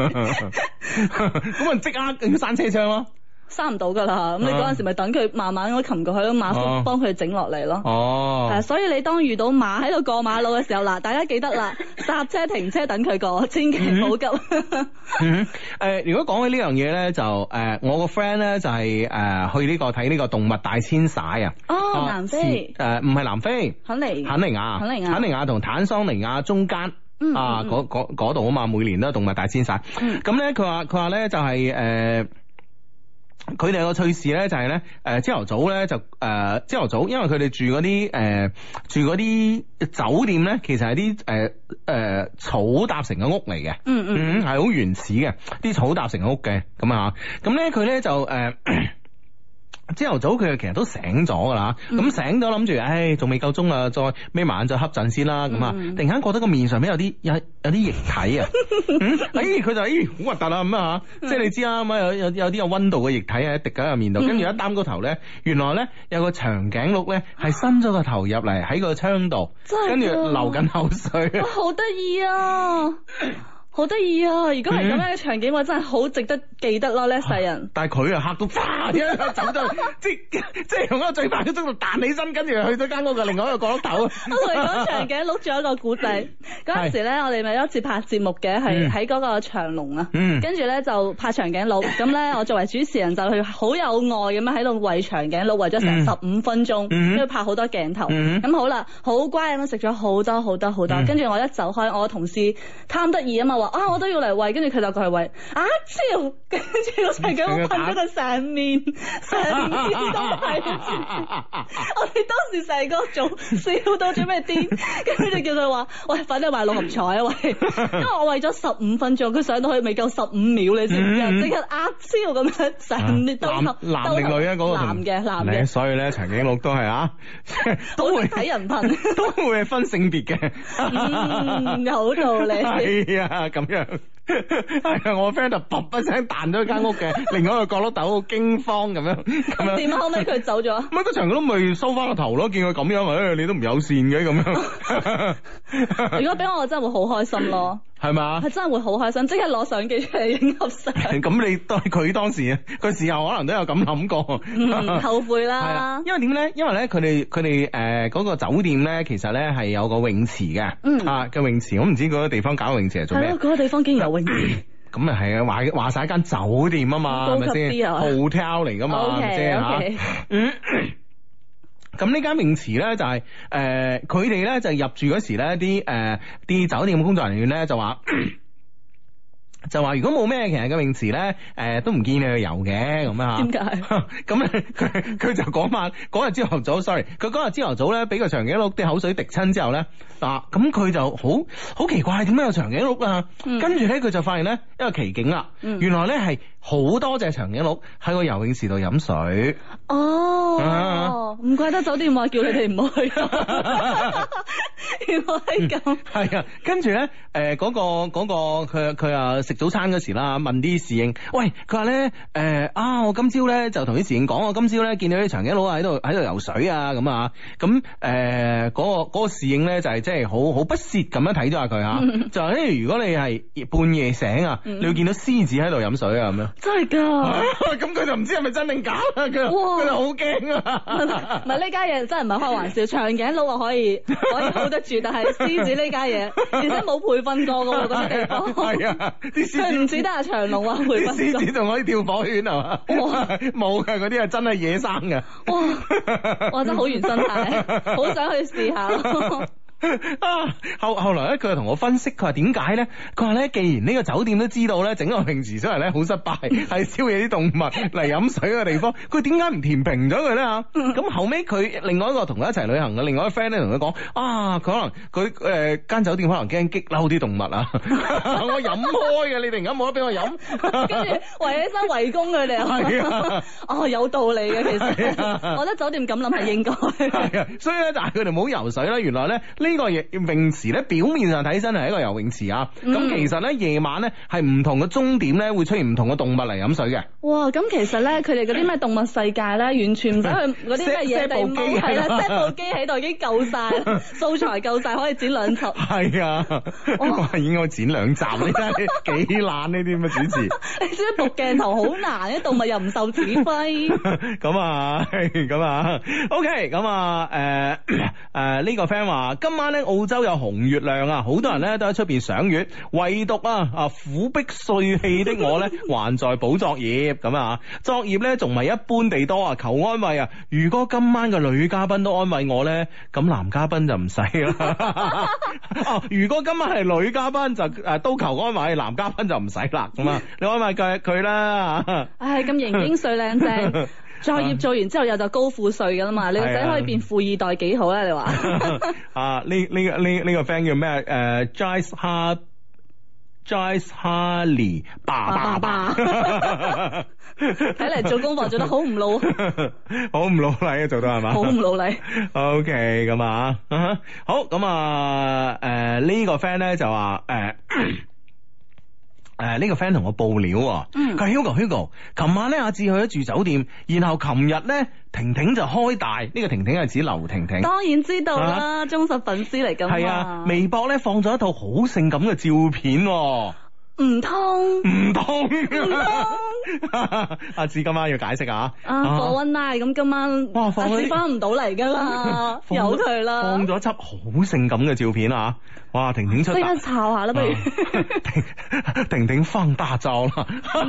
咁啊，即刻要閂車窗咯。 閂唔到噶啦，咁你嗰陣時咪等佢慢慢咁擒過去咯，馬夫幫佢整落嚟咯。哦，係，所以你當遇到馬喺度過馬路嘅時候，嗱，大家記得啦，剎車停車等佢過，千祈唔好急。 嗯，誒，如果講起呢樣嘢咧，就誒，我個 friend 咧就係誒去呢個睇呢個動物大遷徙啊。 哦，南非。誒， 唔係南非。肯尼。肯尼亞。肯尼亞。肯尼亞同坦桑尼亞中間。啊，嗰嗰嗰度啊嘛，每年都有動物大遷徙。咁咧，佢話佢話咧就係誒。佢哋有個趣事咧，就係咧，誒，朝頭早咧就誒，朝頭早，因為佢哋住嗰啲誒，住嗰啲酒店咧，其實係啲誒誒草搭成嘅屋嚟嘅，嗯嗯，係好原始嘅，啲草搭成嘅屋嘅，咁啊，咁咧佢咧就誒。呃朝頭早佢其實都醒咗噶啦，咁、嗯、醒咗諗住，唉，仲未夠鐘啊，再眯埋眼再瞌陣先啦，咁啊、嗯，突然間覺得個面上面有啲有有啲液體啊，嗯，哎，佢就咦好核突啊咁啊，即係你知啦，咁啊有有有啲有溫度嘅液體喺滴喺個面度，跟住、嗯、一擔個頭咧，原來咧有個長頸鹿咧係伸咗個頭入嚟喺個窗度，跟住流緊口水， 哇，好得意啊！好得意啊！如果係咁樣嘅場景，我真係好值得記得咯，呢世人。 但係佢啊嚇到，啪一下走咗，即即係用一個最快嘅速度彈起身，跟住去咗間屋嘅另外一個角落頭。我同你講場景，錄咗一個古仔。嗰陣時咧，我哋咪有一次拍節目嘅，係喺嗰個長隆啊。跟住咧就拍長頸鹿，咁咧我作為主持人就去好有愛咁樣喺度餵長頸鹿，餵咗成十五分鐘，跟住拍好多鏡頭。咁好啦，好乖咁樣食咗好多好多好多。跟住我一走開，我同事貪得意啊嘛， 啊我都要嚟餵，跟住佢就過去餵啊超，跟住個長頸鹿噴咗佢成面，成面都係。我哋當時成個組笑到做咩癲，跟住就叫佢話喂，快啲買六合彩啊喂，因為我餵咗十五分鐘，佢上到去未夠十五秒，你知唔知啊？即刻啊超咁樣成面都男男定女啊？嗰個男嘅男嘅， 所以咧長頸鹿都係啊，都會睇人噴， 都會係分性別嘅。 嗯，有道理。 係啊，咁樣係啊，我 friend 就卟一聲彈咗間屋嘅另外一個角落頭，好驚慌咁樣。咁點啊？後尾佢走咗。 乜個長頸鹿咪收翻個頭咯？見佢咁樣，誒，你都唔友善嘅咁樣。 如果俾我，我真係會好開心咯。 係嘛？ 係真係會好開心，即刻攞相機出嚟影合相。 咁你對佢當時，佢事後可能都有咁諗過， 嗯，後悔啦。 係啊，因為點咧？因為咧，佢哋佢哋誒嗰個酒店咧，其實咧係有個泳池嘅，嗯啊個泳池，我唔知嗰個地方搞泳池係做咩？ 係咯，嗰個地方竟然有泳池。 咁啊係啊，話話晒間酒店啊嘛，係咪先？hotel 嚟噶嘛，係咪先吓？嗯。咁呢間泳池咧就係、是、誒，佢哋咧就入住嗰時咧，啲誒啲酒店嘅工作人員咧就話。就話如果冇咩其實嘅泳池咧，誒、呃、都唔建議你去游嘅咁啊。點解？咁咧佢佢就講翻嗰日朝頭早 ，sorry，佢嗰日朝頭早咧俾個長頸鹿啲口水滴親之後咧，嗱咁佢就好好奇怪，點解有長頸鹿啊？嗯、跟住咧佢就發現咧一個奇景啦，嗯、原來咧係好多隻長頸鹿喺個游泳池度飲水。哦，唔、啊、怪得酒店話叫你哋唔去。原來係咁。係、嗯、啊，跟住咧誒嗰個嗰、嗰個佢佢啊食早餐嗰時啦，問啲侍應，喂，佢話咧誒啊，我今朝咧就同啲侍應講，我今朝咧見到啲長頸鹿喺度喺度游水啊咁啊，咁誒嗰個嗰個侍應咧就係即係好好不屑咁樣睇咗下佢吓，嗯、就係誒如果你係半夜醒啊，嗯、你會見到獅子喺度飲水啊咁樣。真係噶？咁佢就唔知係咪真定假啊？佢佢就好驚啊！唔係呢家嘢真係唔係開玩笑，長頸鹿啊可以可以 hold 得住，但係獅子呢家嘢而且冇培訓過噶喎，嗰啲地方。係啊。佢唔似得阿長龍啊，會啲獅子仲可以跳火圈係嘛？冇嘅，嗰啲係真係野生嘅。哇！哇！真係好原生態，好想去試下咯。啊！後後來咧，佢就同我分析，佢話點解咧？佢話咧，既然呢個酒店都知道咧，整個泳池出嚟咧好失敗，係招惹啲動物嚟飲水嘅地方，佢點解唔填平咗佢咧吓？咁後尾佢另外一個同佢一齊旅行嘅另外一個 friend 咧，同佢講啊，佢可能佢誒間酒店可能驚激嬲啲動物啊！我飲開嘅，你突然間冇得俾我飲，跟住圍起身圍攻佢哋啊！係啊，哦，有道理嘅，其實我覺得酒店咁諗係應該。係啊，所以咧，但係佢哋冇游水啦。原來咧。呢個泳池咧，表面上睇身係一個游泳池啊，咁、嗯、其實咧夜晚咧係唔同嘅鐘點咧會出現唔同嘅動物嚟飲水嘅。哇！咁其實咧佢哋嗰啲咩動物世界咧，完全唔使去嗰啲咩野地貓，係啦，set 部機喺度已經夠晒，素材夠晒，可以剪兩集。係啊，哇！應該剪兩集，你真係幾懶呢啲咁嘅主持。你知部鏡頭好難，啲動物又唔受指揮。咁啊，咁啊 ，OK，咁啊，誒誒呢個 friend 話今晚咧澳洲有紅月亮啊，好多人咧都喺出邊賞月，唯獨啊啊苦逼帥氣的我咧還在補作業咁啊，作業咧仲唔係一般地多啊，求安慰啊！如果今晚嘅女嘉賓都安慰我咧，咁男嘉賓就唔使啦。哦，如果今晚係女嘉賓就誒都求安慰，男嘉賓就唔使啦。咁啊，你安慰佢佢啦。唉，咁型英帥靚正。作業做完之後又就高富帥噶啦嘛，你個仔可以變富二代幾好啊？你話啊？呢呢個呢呢個 friend 叫咩？誒 Joyce Ha Joyce Harley 爸爸爸，睇嚟做功課做得好唔努，好唔努力啊！做到係嘛？好唔努力。OK，咁啊，好咁啊，誒呢個 friend 咧就話誒。誒，呢、呃這個 friend 同我報料，佢係 Hugo Hugo，琴晚咧阿志去咗住酒店，然後琴日咧婷婷就開大，呢、這個婷婷係指劉婷婷，當然知道啦，啊、忠實粉絲嚟噶嘛，係啊，微博咧放咗一套好性感嘅照片，唔通唔通，唔通，阿志今晚要解釋啊，啊 for one night 咁今晚哇阿志翻唔到嚟噶啦，由佢啦，放咗輯好性感嘅照片啊！哇！婷婷出，即刻抄下啦，不如婷婷放大招啦，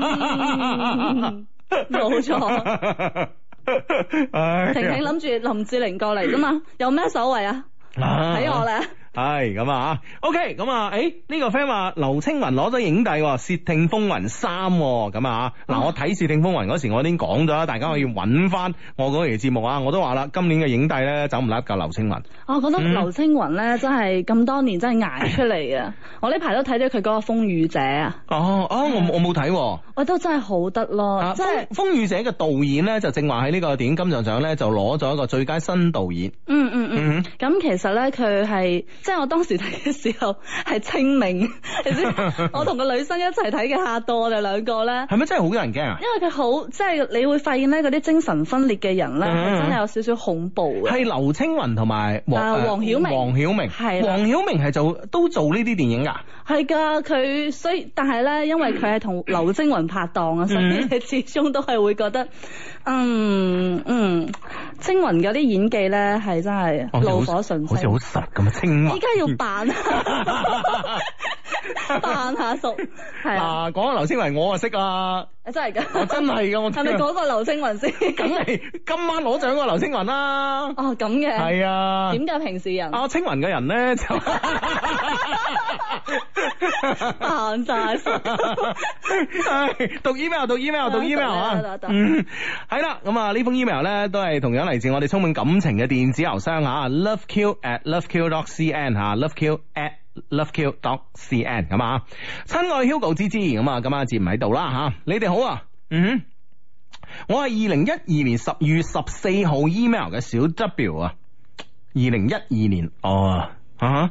冇錯。婷婷諗住林志玲過嚟啫嘛，有咩所謂啊？睇我咧， 係咁啊 OK 咁啊，誒呢個 friend 話劉青雲攞咗影帝《竊聽風雲三》咁啊，嗱我睇《竊聽風雲》嗰時我已經講咗啦，大家可以揾翻我嗰期節目啊，我都話啦，今年嘅影帝咧走唔甩夠劉青雲。 我覺得劉青雲咧真係咁多年真係捱出嚟啊！我呢排都睇咗佢嗰個《風雨者》啊。 哦哦，我我冇睇。 我都真係好得咯，即係《 風雨者》嘅導演咧就正話喺呢個電影金像獎咧就攞咗一個最佳新導演。 嗯嗯嗯。咁、嗯、其實咧佢係即係我當時睇嘅時候係清明，你知我同個女生一齊睇嘅，嚇到我哋兩個咧。係咪真係好多人驚啊？因為佢好即係你會發現咧嗰啲精神分裂嘅人咧係、嗯、真係有少少恐怖嘅。係劉青雲同埋黃黃曉明。黃曉明係。黃曉明係做都做呢啲電影㗎。係㗎，佢所以但係咧，因為佢係同劉青雲拍檔啊，所以你始終都係會覺得，嗯嗯，青雲嗰啲演技咧係真係爐火純青，好似好實咁啊！青雲依家要扮扮下熟，係啊！講下劉青雲，我啊識啊，真係㗎，我真係㗎，我係咪講個劉青雲先？梗係今晚攞獎個劉青雲啦！哦，咁嘅係啊？點解平時人啊？青雲嘅人咧就扮晒熟。讀 email 讀 email 讀 email 啊，嗯，係啦，咁啊呢封 email 咧都係同樣嚟自我哋充滿感情嘅電子郵箱啊 ，loveq at loveq dot cn 吓 ，loveq at loveq dot cn 咁啊，親愛 Hugo 芝芝咁啊，今晚節唔喺度啦吓，你哋好啊，嗯，我係二零一二年十月十四號 email 嘅小 W 啊，二零一二年哦啊。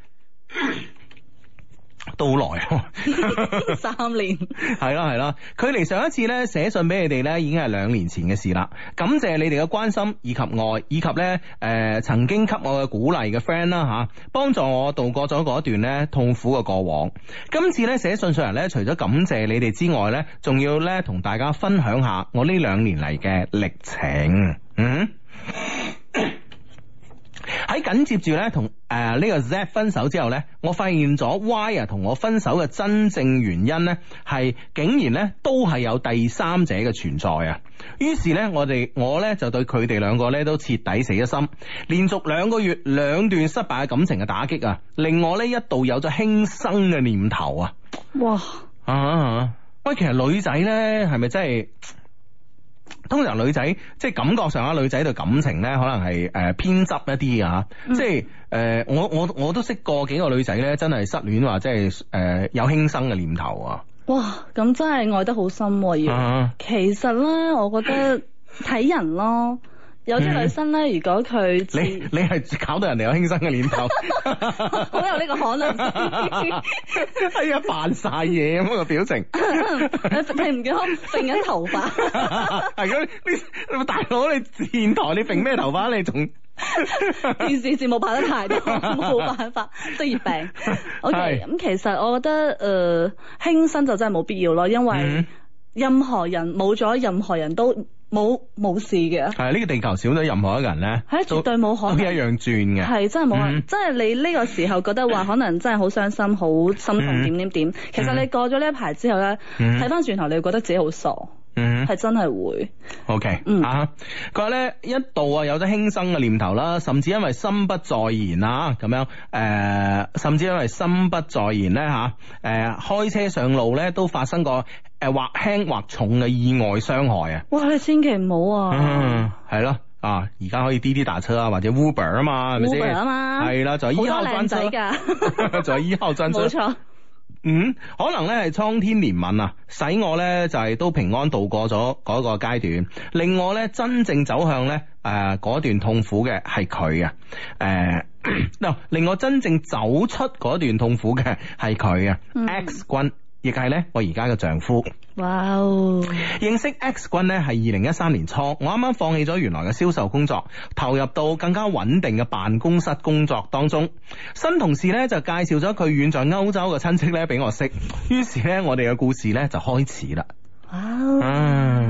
都好耐，三年係啦係啦，距離上一次咧寫信俾你哋咧已經係兩年前嘅事啦。感謝你哋嘅關心以及愛，以及咧誒、呃、曾經給我嘅鼓勵嘅 friend 啦吓，幫助我度過咗嗰一段咧痛苦嘅過往。今次咧寫信上嚟咧，除咗感謝你哋之外咧，仲要咧同大家分享下我呢兩年嚟嘅歷程。嗯。喺緊接住咧同誒呢個 Z 分手之後咧，我發現咗 Y 啊同我分手嘅真正原因咧係竟然咧都係有第三者嘅存在啊！於是咧我哋我咧就對佢哋兩個咧都徹底死咗心，連續兩個月兩段失敗嘅感情嘅打擊啊，令我咧一度有咗輕生嘅念頭啊！哇啊！喂，其實女仔咧係咪真係？通常女仔即係感覺上啊，女仔對感情咧可能係誒、呃、偏執一啲啊，嗯、即係誒、呃、我我我都識過幾個女仔咧，真係失戀話即係誒、呃、有輕生嘅念頭啊！哇，咁真係愛得好深要、啊。其實咧，我覺得睇人咯。有啲女生咧，如果佢你你係搞到人哋有輕生嘅念頭，好有呢個可能。哎呀，扮晒嘢咁個表情，你唔見我揈緊頭髮？係咁，你大佬你電台你揈咩頭髮？你仲電視節目拍得太多，冇辦法，職業病。OK，咁其實我覺得誒輕生就真係冇必要咯，因為任何人冇咗，任何人都。冇冇事嘅，係呢、這個地球少咗任何一個人咧，係絕對冇可能，都一樣轉嘅，係真係冇可能。即係、嗯、你呢個時候覺得話可能真係好傷心、好心痛點點點，其實你過咗呢一排之後咧，睇翻轉頭你會覺得自己好傻，嗯，係真係會。OK，嗯啊，佢話咧一度啊有咗輕生嘅念頭啦，甚至因為心不在焉啊咁樣，誒、呃，甚至因為心不在焉咧吓，誒、呃，開車上路咧都發生過。誒，或輕或重嘅意外傷害啊！哇，你千祈唔好啊！嗯，係咯，啊，而家可以滴滴打車啊，或者 Uber 啊嘛，係咪先？Uber 啊嘛，係啦，就係一號專車噶，就係一號專車，冇錯。嗯，可能咧係蒼天憐憫啊，使我咧就係、是、都平安度過咗嗰個階段，令我咧真正走向咧誒嗰段痛苦嘅係佢啊，誒，嗱，令我真正走出嗰段痛苦嘅係佢啊 ，X 君。亦係咧，我而家嘅丈夫。哇哦！認識 X 君咧係二零一三年初，我啱啱放棄咗原來嘅銷售工作，投入到更加穩定嘅辦公室工作當中。新同事咧就介紹咗佢遠在歐洲嘅親戚咧俾我識，於是咧我哋嘅故事咧就開始啦。哇！嗯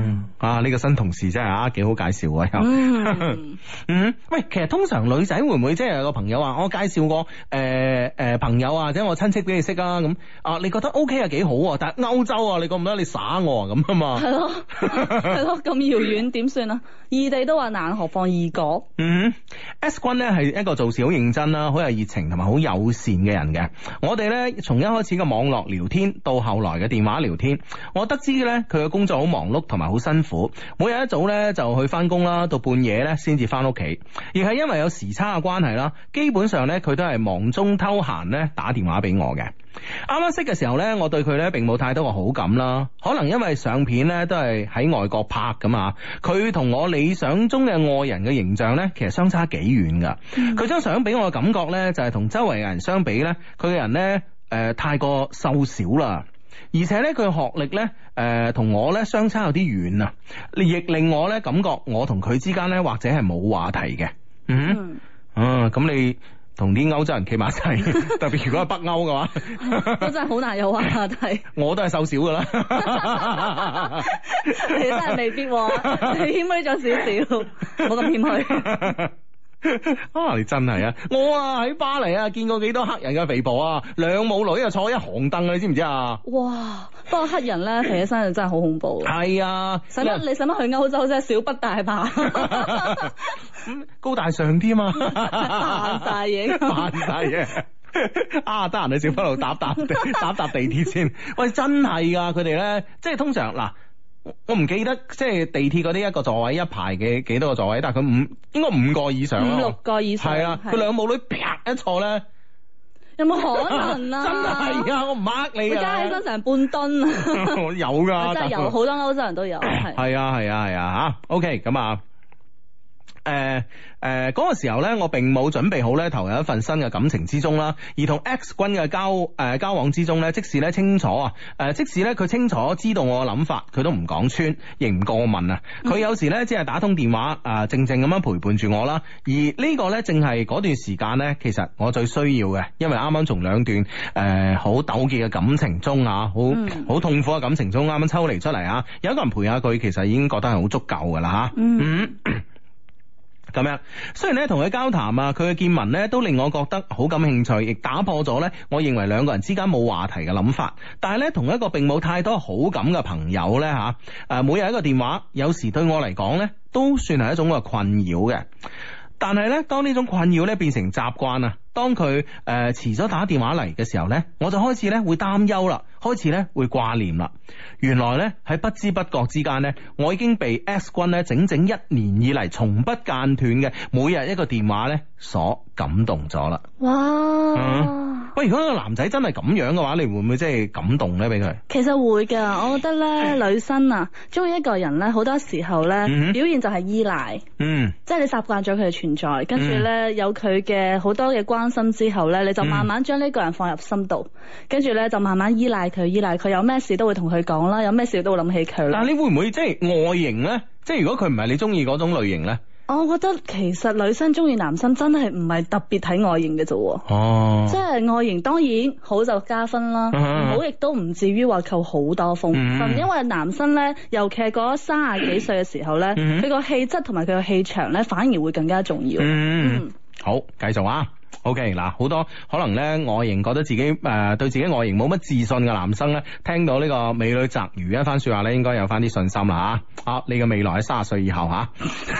嗯啊呢、這個新同事真係啊幾好介紹啊又。 嗯嗯喂，其實通常女仔會唔會即係有個朋友話我介紹個誒誒朋友啊或者我親戚俾你識啊咁啊你覺得 OK 啊幾好啊，但係歐洲啊你覺唔覺得你耍我啊咁啊嘛？係咯係咯，咁遙遠點算啊？異地都話難，何況異國？ 嗯 S 君咧係一個做事好認真啦，好有熱情同埋好友善嘅人嘅。我哋咧從一開始嘅網絡聊天到後來嘅電話聊天，我得知咧佢嘅工作好忙碌同埋好辛苦，每日一早咧就去翻工啦，到半夜咧先至翻屋企，而係因為有時差嘅關係啦，基本上咧佢都係忙中偷閒咧打電話俾我嘅。啱啱識嘅時候咧，我對佢咧並冇太多嘅好感啦，可能因為相片咧都係喺外國拍噶嘛，佢同我理想中嘅愛人嘅形象咧其實相差幾遠噶。佢張相俾我嘅感覺咧就係同周圍嘅人相比咧，佢嘅人咧誒、呃、太過瘦小啦，而且咧佢學歷咧誒同我咧相差有啲遠啊，亦令我咧感覺我同佢之間咧或者係冇話題嘅。嗯，啊咁你同啲歐洲人企埋一齊，特別如果係北歐嘅話， 都真係好難有話題。 我都係瘦少噶啦， 你真係未必，你謙虛咗少少，冇咁謙虛。 啊！你真係啊！我啊喺巴黎啊見過幾多黑人嘅肥婆啊，兩母女啊坐一行凳啊，你知唔知啊？ 哇！不過黑人咧肥起身就真係好恐怖。 係啊， 使乜你使乜去歐洲啫？小不大吧？ 咁高大上啲嘛？ 扮晒嘢， 扮晒嘢。啊！得閒去小北路搭搭搭搭地鐵先。喂，真係噶，佢哋咧即係通常嗱。我唔記得即係地鐵嗰啲一個座位一排嘅幾多個座位，但係佢五應該五個以上， 五六個以上。 係啊，佢兩母女啪一坐咧， 有冇可能啊？ 真係啊！我唔呃你啊！ 加起身成半噸啊！ 我有噶， 真係有，好多歐洲人都有。係係啊係啊係啊吓 ，OK 咁啊。誒誒，嗰、呃嗰個時候咧，我並冇準備好咧投入一份新嘅感情之中啦。而同 X 君嘅交誒、呃、交往之中咧，即使咧清楚啊，誒、呃、即使咧佢清楚知道我嘅諗法，佢都唔講穿，亦唔過問啊。佢有時咧只係打通電話啊、呃，靜靜咁樣陪伴住我啦。而呢個咧正係嗰段時間咧，其實我最需要嘅，因為啱啱從兩段誒好糾結嘅感情中啊，好好痛苦嘅感情中啱啱抽離出嚟啊，有一個人陪下佢，其實已經覺得係好足夠噶啦吓。嗯。嗯咁樣，雖然咧同佢交談啊，佢嘅見聞咧都令我覺得好感興趣，亦打破咗咧我認為兩個人之間冇話題嘅諗法。但係咧同一個並冇太多好感嘅朋友咧吓，誒每日一個電話，有時對我嚟講咧都算係一種嘅困擾嘅。但係咧當呢種困擾咧變成習慣啊，當佢誒遲咗打電話嚟嘅時候咧，我就開始咧會擔憂啦，開始咧會掛念啦。原來咧喺不知不覺之間咧，我已經被 X 君咧整整一年以嚟從不間斷嘅每日一個電話咧所感動咗啦。哇！嗯，喂，如果個男仔真係咁樣嘅話，你會唔會即係感動咧？俾佢？其實會噶，我覺得咧女生啊，中意一個人咧，好多時候咧、嗯、表現就係依賴。嗯，即係你習慣咗佢嘅存在，跟住咧有佢嘅好多嘅關心之後咧，你就慢慢將呢個人放入心度，跟住咧就慢慢依賴佢，依賴佢有咩事都會同佢講啦，有咩事都會諗起佢。但係你會唔會即係外形咧？即係如果佢唔係你中意嗰種類型咧？我覺得其實女生中意男生真係唔係特別睇外形嘅啫。哦，即係外形當然好就加分啦，唔、uh-huh. 好亦都唔至於話扣好多分。Uh-huh. 因為男生咧，尤其係過咗三十幾歲嘅時候咧，佢個氣質同埋佢個氣場咧，反而會更加重要。Uh-huh. 嗯，好，繼續啊。OK 嗱，好多可能咧外形覺得自己誒、呃、對自己外形冇乜自信嘅男生咧，聽到呢個美女擇如一番說話咧，應該有翻啲信心啦吓。好，你嘅未來喺三十歲以後吓，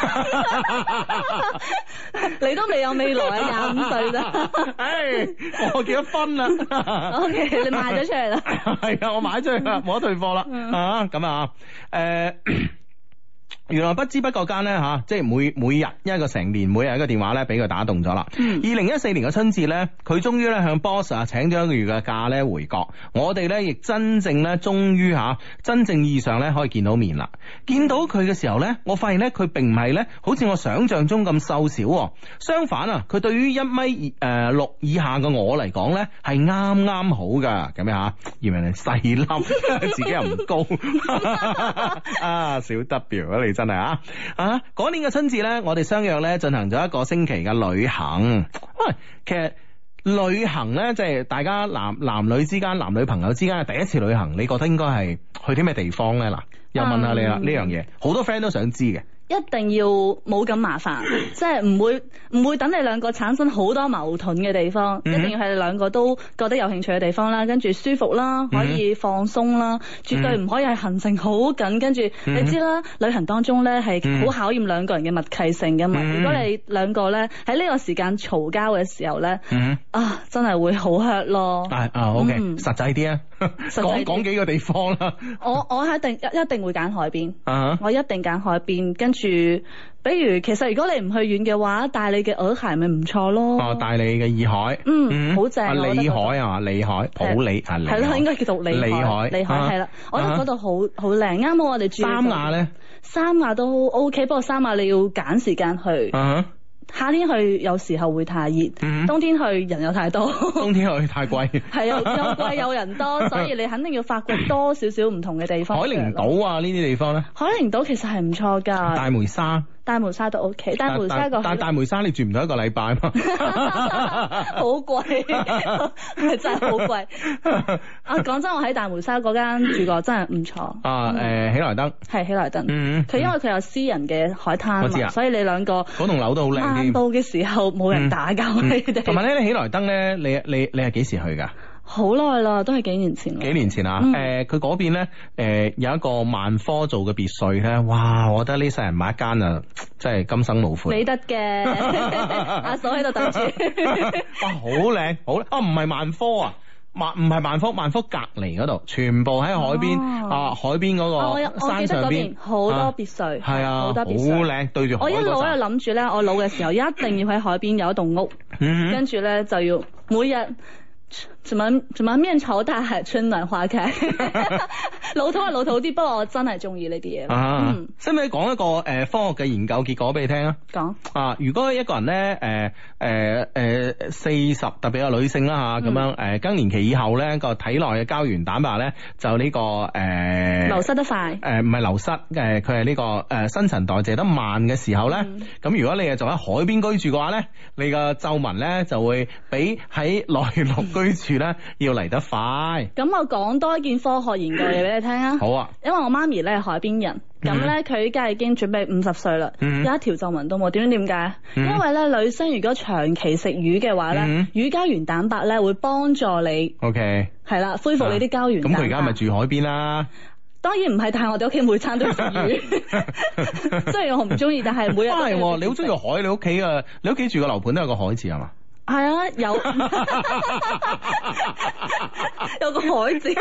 你都未有未來啊，廿五歲咋？唉，我結咗婚啦。OK，你賣咗出嚟啦？係啊，我賣咗出去啦，冇得退貨啦。啊，咁啊，誒。原來不知不覺間咧吓，即係每每日一個成年，每日一個電話咧，俾佢打動咗啦。二零一四年嘅春節咧，佢終於咧向 boss 啊請咗一個月嘅假咧回國，我哋咧亦真正咧終於吓真正意義上咧可以見到面啦。見到佢嘅時候咧，我發現咧佢並唔係咧好似我想象中咁瘦小，相反啊，佢對於一米誒六以下嘅我嚟講咧係啱啱好噶。咁樣吓，以為你細粒，自己又唔高啊，小 W 啊你。真係啊！啊，嗰年嘅春節咧，我哋相約咧進行咗一個星期嘅旅行。喂，其實旅行咧，即係大家男男女之間、男女朋友之間嘅第一次旅行，你覺得應該係去啲咩地方咧？嗱，又問下你啦，呢樣嘢好多 friend 都想知嘅。 一定要冇咁麻煩，即係唔會唔會等你兩個產生好多矛盾嘅地方，嗯、一定要係你兩個都覺得有興趣嘅地方啦，跟住舒服啦，可以放鬆啦，嗯、絕對唔可以係行程好緊，跟住、嗯、你知啦，旅行當中咧係好考驗兩個人嘅默契性噶嘛。嗯、如果你兩個咧喺呢個時間嘈交嘅時候咧，嗯、啊真係會好 hurt 咯。 啊啊 OK，嗯、實際啲啊，講講幾個地方啦。我我一定一一定會揀海邊， 啊、 我一定揀海邊，跟住。住，比如其實如果你唔去遠嘅話，帶你嘅鵝鞋咪唔錯咯。 哦，帶你嘅洱海， 嗯，好正。啊， 里海啊，里海，普里啊， 係咯，應該叫做里海，里海係啦。我覺得嗰度好好靚，啱好我哋住。 三亞咧？ 三亞都 OK，不過三亞你要揀時間去。夏天去有時候會太熱，冬天去人又太多。冬天去太貴。係啊，又貴又人多，所以你肯定要發掘多少少唔同嘅地方。海陵島啊，呢啲地方咧？海陵島其實係唔錯㗎。大梅沙。大梅沙都 OK，大梅沙個但大梅沙你住唔到一個禮拜嘛？好貴，真係好貴。啊，講真，我喺大梅沙嗰間住過，真係唔錯。啊，誒，喜來登係喜來登，嗯，佢因為佢有私人嘅海灘嘛，所以你兩個嗰棟樓都好靚。晏到嘅時候冇人打攪你哋。同埋咧，喜來登咧，你你你係幾時去㗎？好耐啦，都係幾年前。幾年前啊？誒、嗯，佢嗰邊咧，誒有一個萬科做嘅別墅咧，哇！我覺得呢世人買一間啊，真係今生無悔。你得嘅，阿嫂喺度等住。哇，好靚，好啊！唔係萬科啊，萬唔係萬科，萬科隔離嗰度，全部喺海邊、哦、啊，海邊嗰個山上邊好多別墅，係啊，好多別墅，好靚，對住海。我一路喺度諗住咧，我老嘅時候一定要喺海邊有一棟屋，嗯、跟住咧就要每日。怎麼怎麼面朝大海，春暖花開。老土係老土啲，不過我真係中意呢啲嘢。啊，使唔使講一個誒、呃、科學嘅研究結果俾你聽啊？講啊，如果一個人咧誒誒誒四十，特別係女性啦吓，咁樣誒更年期以後咧個體內嘅膠原蛋白咧就呢、這個誒、呃、流失得快。誒唔係流失，誒佢係呢個誒、呃、新陳代謝得慢嘅時候咧，咁、嗯、如果你係做喺海邊居住嘅話咧，你個皺紋咧就會比喺內陸居住咧要嚟得快。咁我講多一件科學研究嘢俾你聽啊。好啊。因為我媽咪咧係海邊人，咁咧佢依家已經準備五十歲啦，嗯、有一條皺紋都冇。點解？點解？嗯、因為咧女生如果長期食魚嘅話咧，嗯、魚膠原蛋白咧會幫助你。O K。係啦，恢復你啲膠原蛋白。咁佢而家咪住海邊啦？當然唔係，但係我哋屋企每餐都要食魚。雖然我唔中意，但係每日都係。你好中意海？你屋企啊？你屋企住個樓盤都有個海字係嘛？係啊，有有個海字，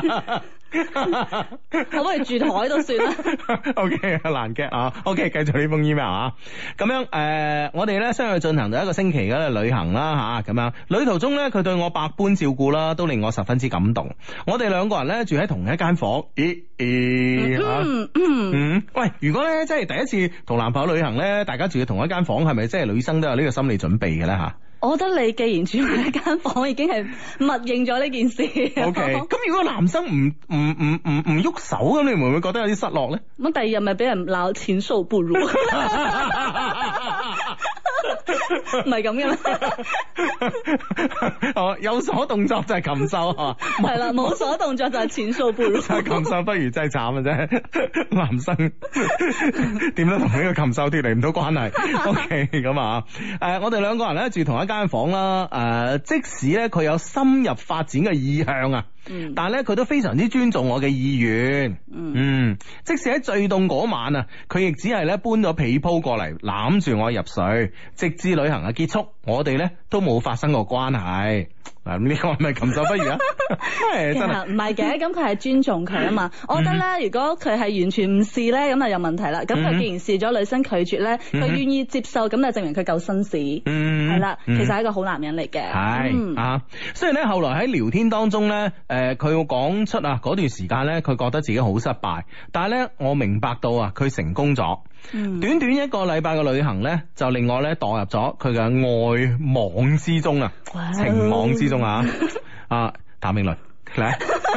可唔可以住台都算啦。O K， 難嘅啊。O K， 繼續呢封 email 啊。咁樣誒、呃，我哋咧相繼進行咗一個星期嘅旅行啦吓，咁樣旅途中咧，佢對我百般照顧啦，都令我十分之感動。我哋兩個人咧住喺同一間房。咦咦啊嗯嗯。喂，如果咧即係第一次同男朋友旅行咧，大家住喺同一間房，係咪即係女生都有呢個心理準備嘅咧吓？我覺得你既然住喺一間房，已經係默認咗呢件事。O K， 咁如果男生唔唔唔唔唔喐手咁，你會唔會覺得有啲失落咧？咁第二日咪俾人鬧禽獸不如？唔係咁嘅咩？哦，有所動作就係禽獸啊！係啦，冇所動作就係禽獸不如。禽獸不如真係慘啊！啫，男生點都同呢個禽獸脫離唔到關係。O K， 咁啊，誒、呃，我哋兩個人咧住同一間房啦。誒、呃，即使咧佢有深入發展嘅意向啊。嗯、但係咧，佢都非常之尊重我嘅意願。嗯，嗯，即使喺最凍嗰晚啊，佢亦只係咧搬咗被鋪過嚟攬住我入睡，直至旅行嘅結束，我哋咧都冇發生過關係。嗱，呢個係咪禽獸不如啊？其實唔係嘅，咁佢係尊重佢啊嘛。我覺得咧，嗯、如果佢係完全唔試咧，咁就有問題啦。咁佢既然試咗，女生拒絕咧，佢願意接受，咁就證明佢夠紳士。嗯，係啦，其實係一個好男人嚟嘅。係、嗯、啊，雖然咧後來喺聊天當中咧，誒、呃，佢要講出啊嗰段時間咧，佢覺得自己好失敗，但係咧我明白到啊，佢成功咗。嗯、短短一個禮拜嘅旅行咧，就令我咧墮入咗佢嘅愛網之中啊，哇情網之中啊。啊，譚詠麟嚟，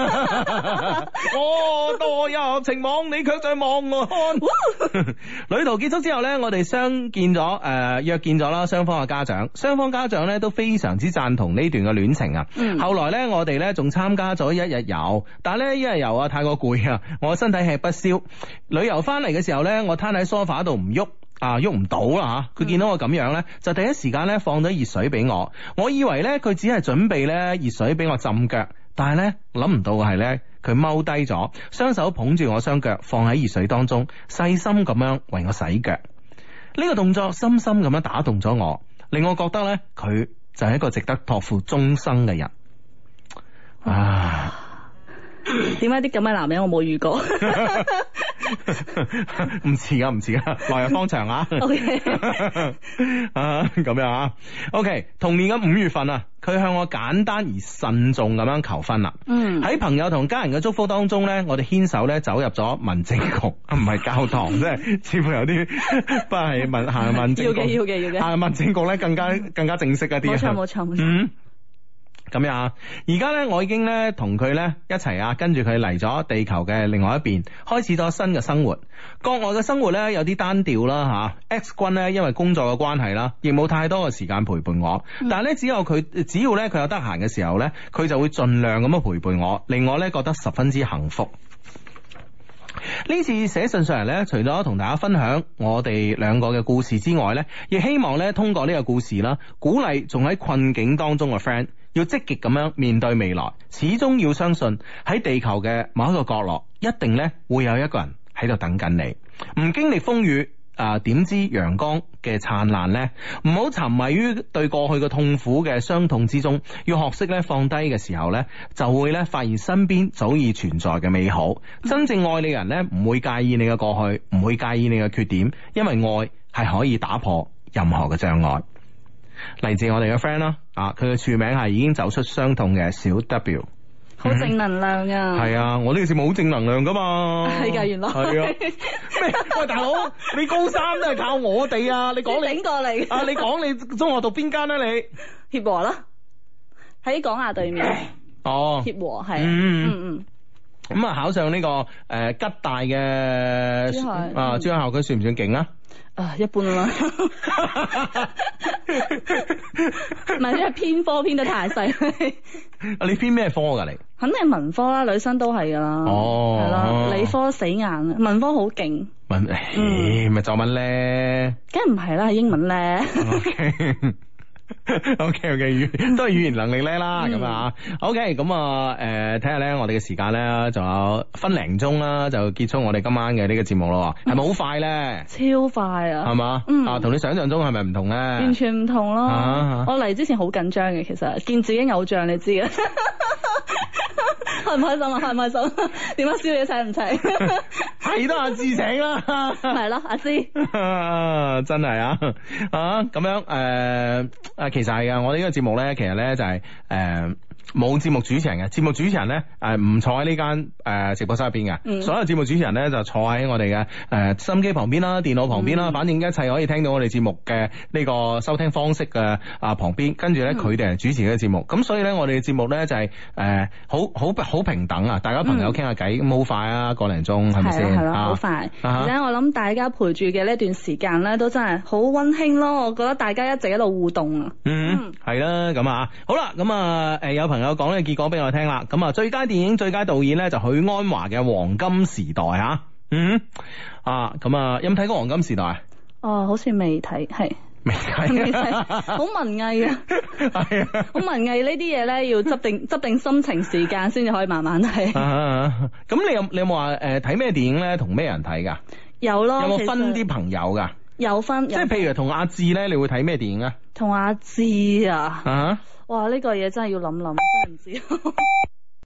我墮入情網，你卻在望我看。旅途結束之後呢，我哋相見咗，誒、呃、約見咗啦，雙方嘅家長，雙方家長呢都非常之贊同呢段嘅戀情啊。嗯、後來呢，我哋呢仲參加咗一日遊，但係呢一日遊啊太過攰啊，我身體吃不消。旅遊翻嚟嘅時候呢，我攤喺梳化度唔喐。啊，喐唔到啦吓！佢見到我咁樣呢，就第一時間呢放咗熱水俾我。我以為呢，佢只係準備呢熱水俾我浸腳，但係呢，諗唔到嘅係呢，佢踎低咗，雙手捧住我雙腳放喺熱水當中，細心咁樣為我洗腳。呢個動作深深咁樣打動咗我，令我覺得呢，佢就係一個值得託付終生嘅人。啊！ 點解啲咁嘅男人我冇遇過？ 唔似啊，唔似啊，來日方長啊。OK， 啊咁樣啊。OK， 同年嘅五月份啊，佢向我簡單而慎重咁樣求婚啦。嗯，喺朋友同家人嘅祝福當中咧，我哋牽手咧走入咗民政局，唔係教堂，即係似乎有啲不係民行民政局。要嘅，要嘅，要嘅。行民政局咧更加更加正式一啲。冇錯，冇錯，冇錯。嗯。咁樣啊，而家咧我已經咧同佢咧一齊啊，跟住佢嚟咗地球嘅另外一邊，開始咗新嘅生活。國外嘅生活咧有啲單調啦吓 ，X 君咧因為工作嘅關係啦，亦冇太多嘅時間陪伴我。嗯、但係咧只有佢，只要咧佢有得閒嘅時候咧，佢就會盡量咁樣陪伴我，令我咧覺得十分之幸福。呢次寫信上嚟咧，除咗同大家分享我哋兩個嘅故事之外咧，亦希望咧通過呢個故事啦，鼓勵仲喺困境當中嘅 friend。要積極咁樣面對未來，始終要相信喺地球嘅某一個角落，一定咧會有一個人喺度等緊你。唔經歷風雨啊，點知陽光嘅燦爛呢？唔好沉迷於對過去嘅痛苦嘅傷痛之中，要學識咧放低嘅時候咧，就會咧發現身邊早已存在嘅美好。真正愛你嘅人咧，唔會介意你嘅過去，唔會介意你嘅缺點，因為愛係可以打破任何嘅障礙。嚟自我哋嘅 friend 啦，啊，佢嘅署名係已經走出傷痛嘅小 W， 好正能量啊！ 係、嗯、啊，我呢個節目好正能量噶嘛， 係噶，原來係啊。 咩？喂，大佬，你高三都係靠我哋啊！你講你整過嚟啊！你講你中學讀邊間啊？你協和啦，喺廣亞對面。 哦， 協和係， 嗯嗯嗯。 咁啊，考上呢、這個誒、呃、吉大嘅珠海啊珠海校區算唔算勁啊？ 啊，一般啦，唔係，因為偏科偏得太細。 啊，你偏咩科噶你？ 肯定係文科啦，女生都係噶啦。哦，係啦，理科死硬，文科好勁。 文，誒，咪作文咧？ 梗係唔係啦，係英文咧。 Okay. O K O K 語都係語言能力叻啦，咁啊 O K 咁啊誒睇下咧，我哋嘅時間咧仲有分零鐘啦，就結束我哋今晚嘅呢個節目咯，係咪好快咧？超快啊，係嘛？嗯啊，同你想象中係咪唔同咧？完全唔同咯。啊、我嚟之前好緊張嘅，其實見自己偶像你知嘅。開唔開心啊？開唔開心？點解宵夜請唔請？係都阿志請啦，係咯，阿芝，真係啊啊咁樣誒啊，其實係啊，我哋呢個節目咧，其實咧就係誒冇節目主持人嘅，節目主持人咧誒唔坐喺呢間誒直播室入邊嘅，嗯、所有節目主持人咧就坐喺我哋嘅誒收音機旁邊啦、電腦旁邊啦，嗯、反正一切可以聽到我哋節目嘅呢個收聽方式嘅啊旁邊，跟住咧佢哋係主持呢個節目，咁、嗯、所以咧我哋嘅節目咧就係誒好好好平等啊，大家朋友傾下偈，咁好、嗯、快啊，個零鐘係咪先？係咯，好快。而且我諗大家陪住嘅呢段時間咧，都真係好溫馨咯。我覺得大家一直喺度互動啊。嗯，係啦，咁啊，好啦，咁啊，誒，有朋友講呢個結果俾我聽啦。咁啊，最佳電影、最佳導演咧就許鞍華嘅《黃金時代》吓。嗯，啊，咁啊，有冇睇過《黃金時代》啊？哦，好似未睇，係。未睇，好文藝啊！係啊，好文藝呢啲嘢咧，要執定執定心情時間先至可以慢慢睇。咁你有你有冇話誒睇咩電影咧？同咩人睇噶？有咯。有冇分啲朋友噶？有分，即係譬如同阿志咧，你會睇咩電影啊？同阿志啊？啊！哇！呢個嘢真係要諗諗，真係唔知。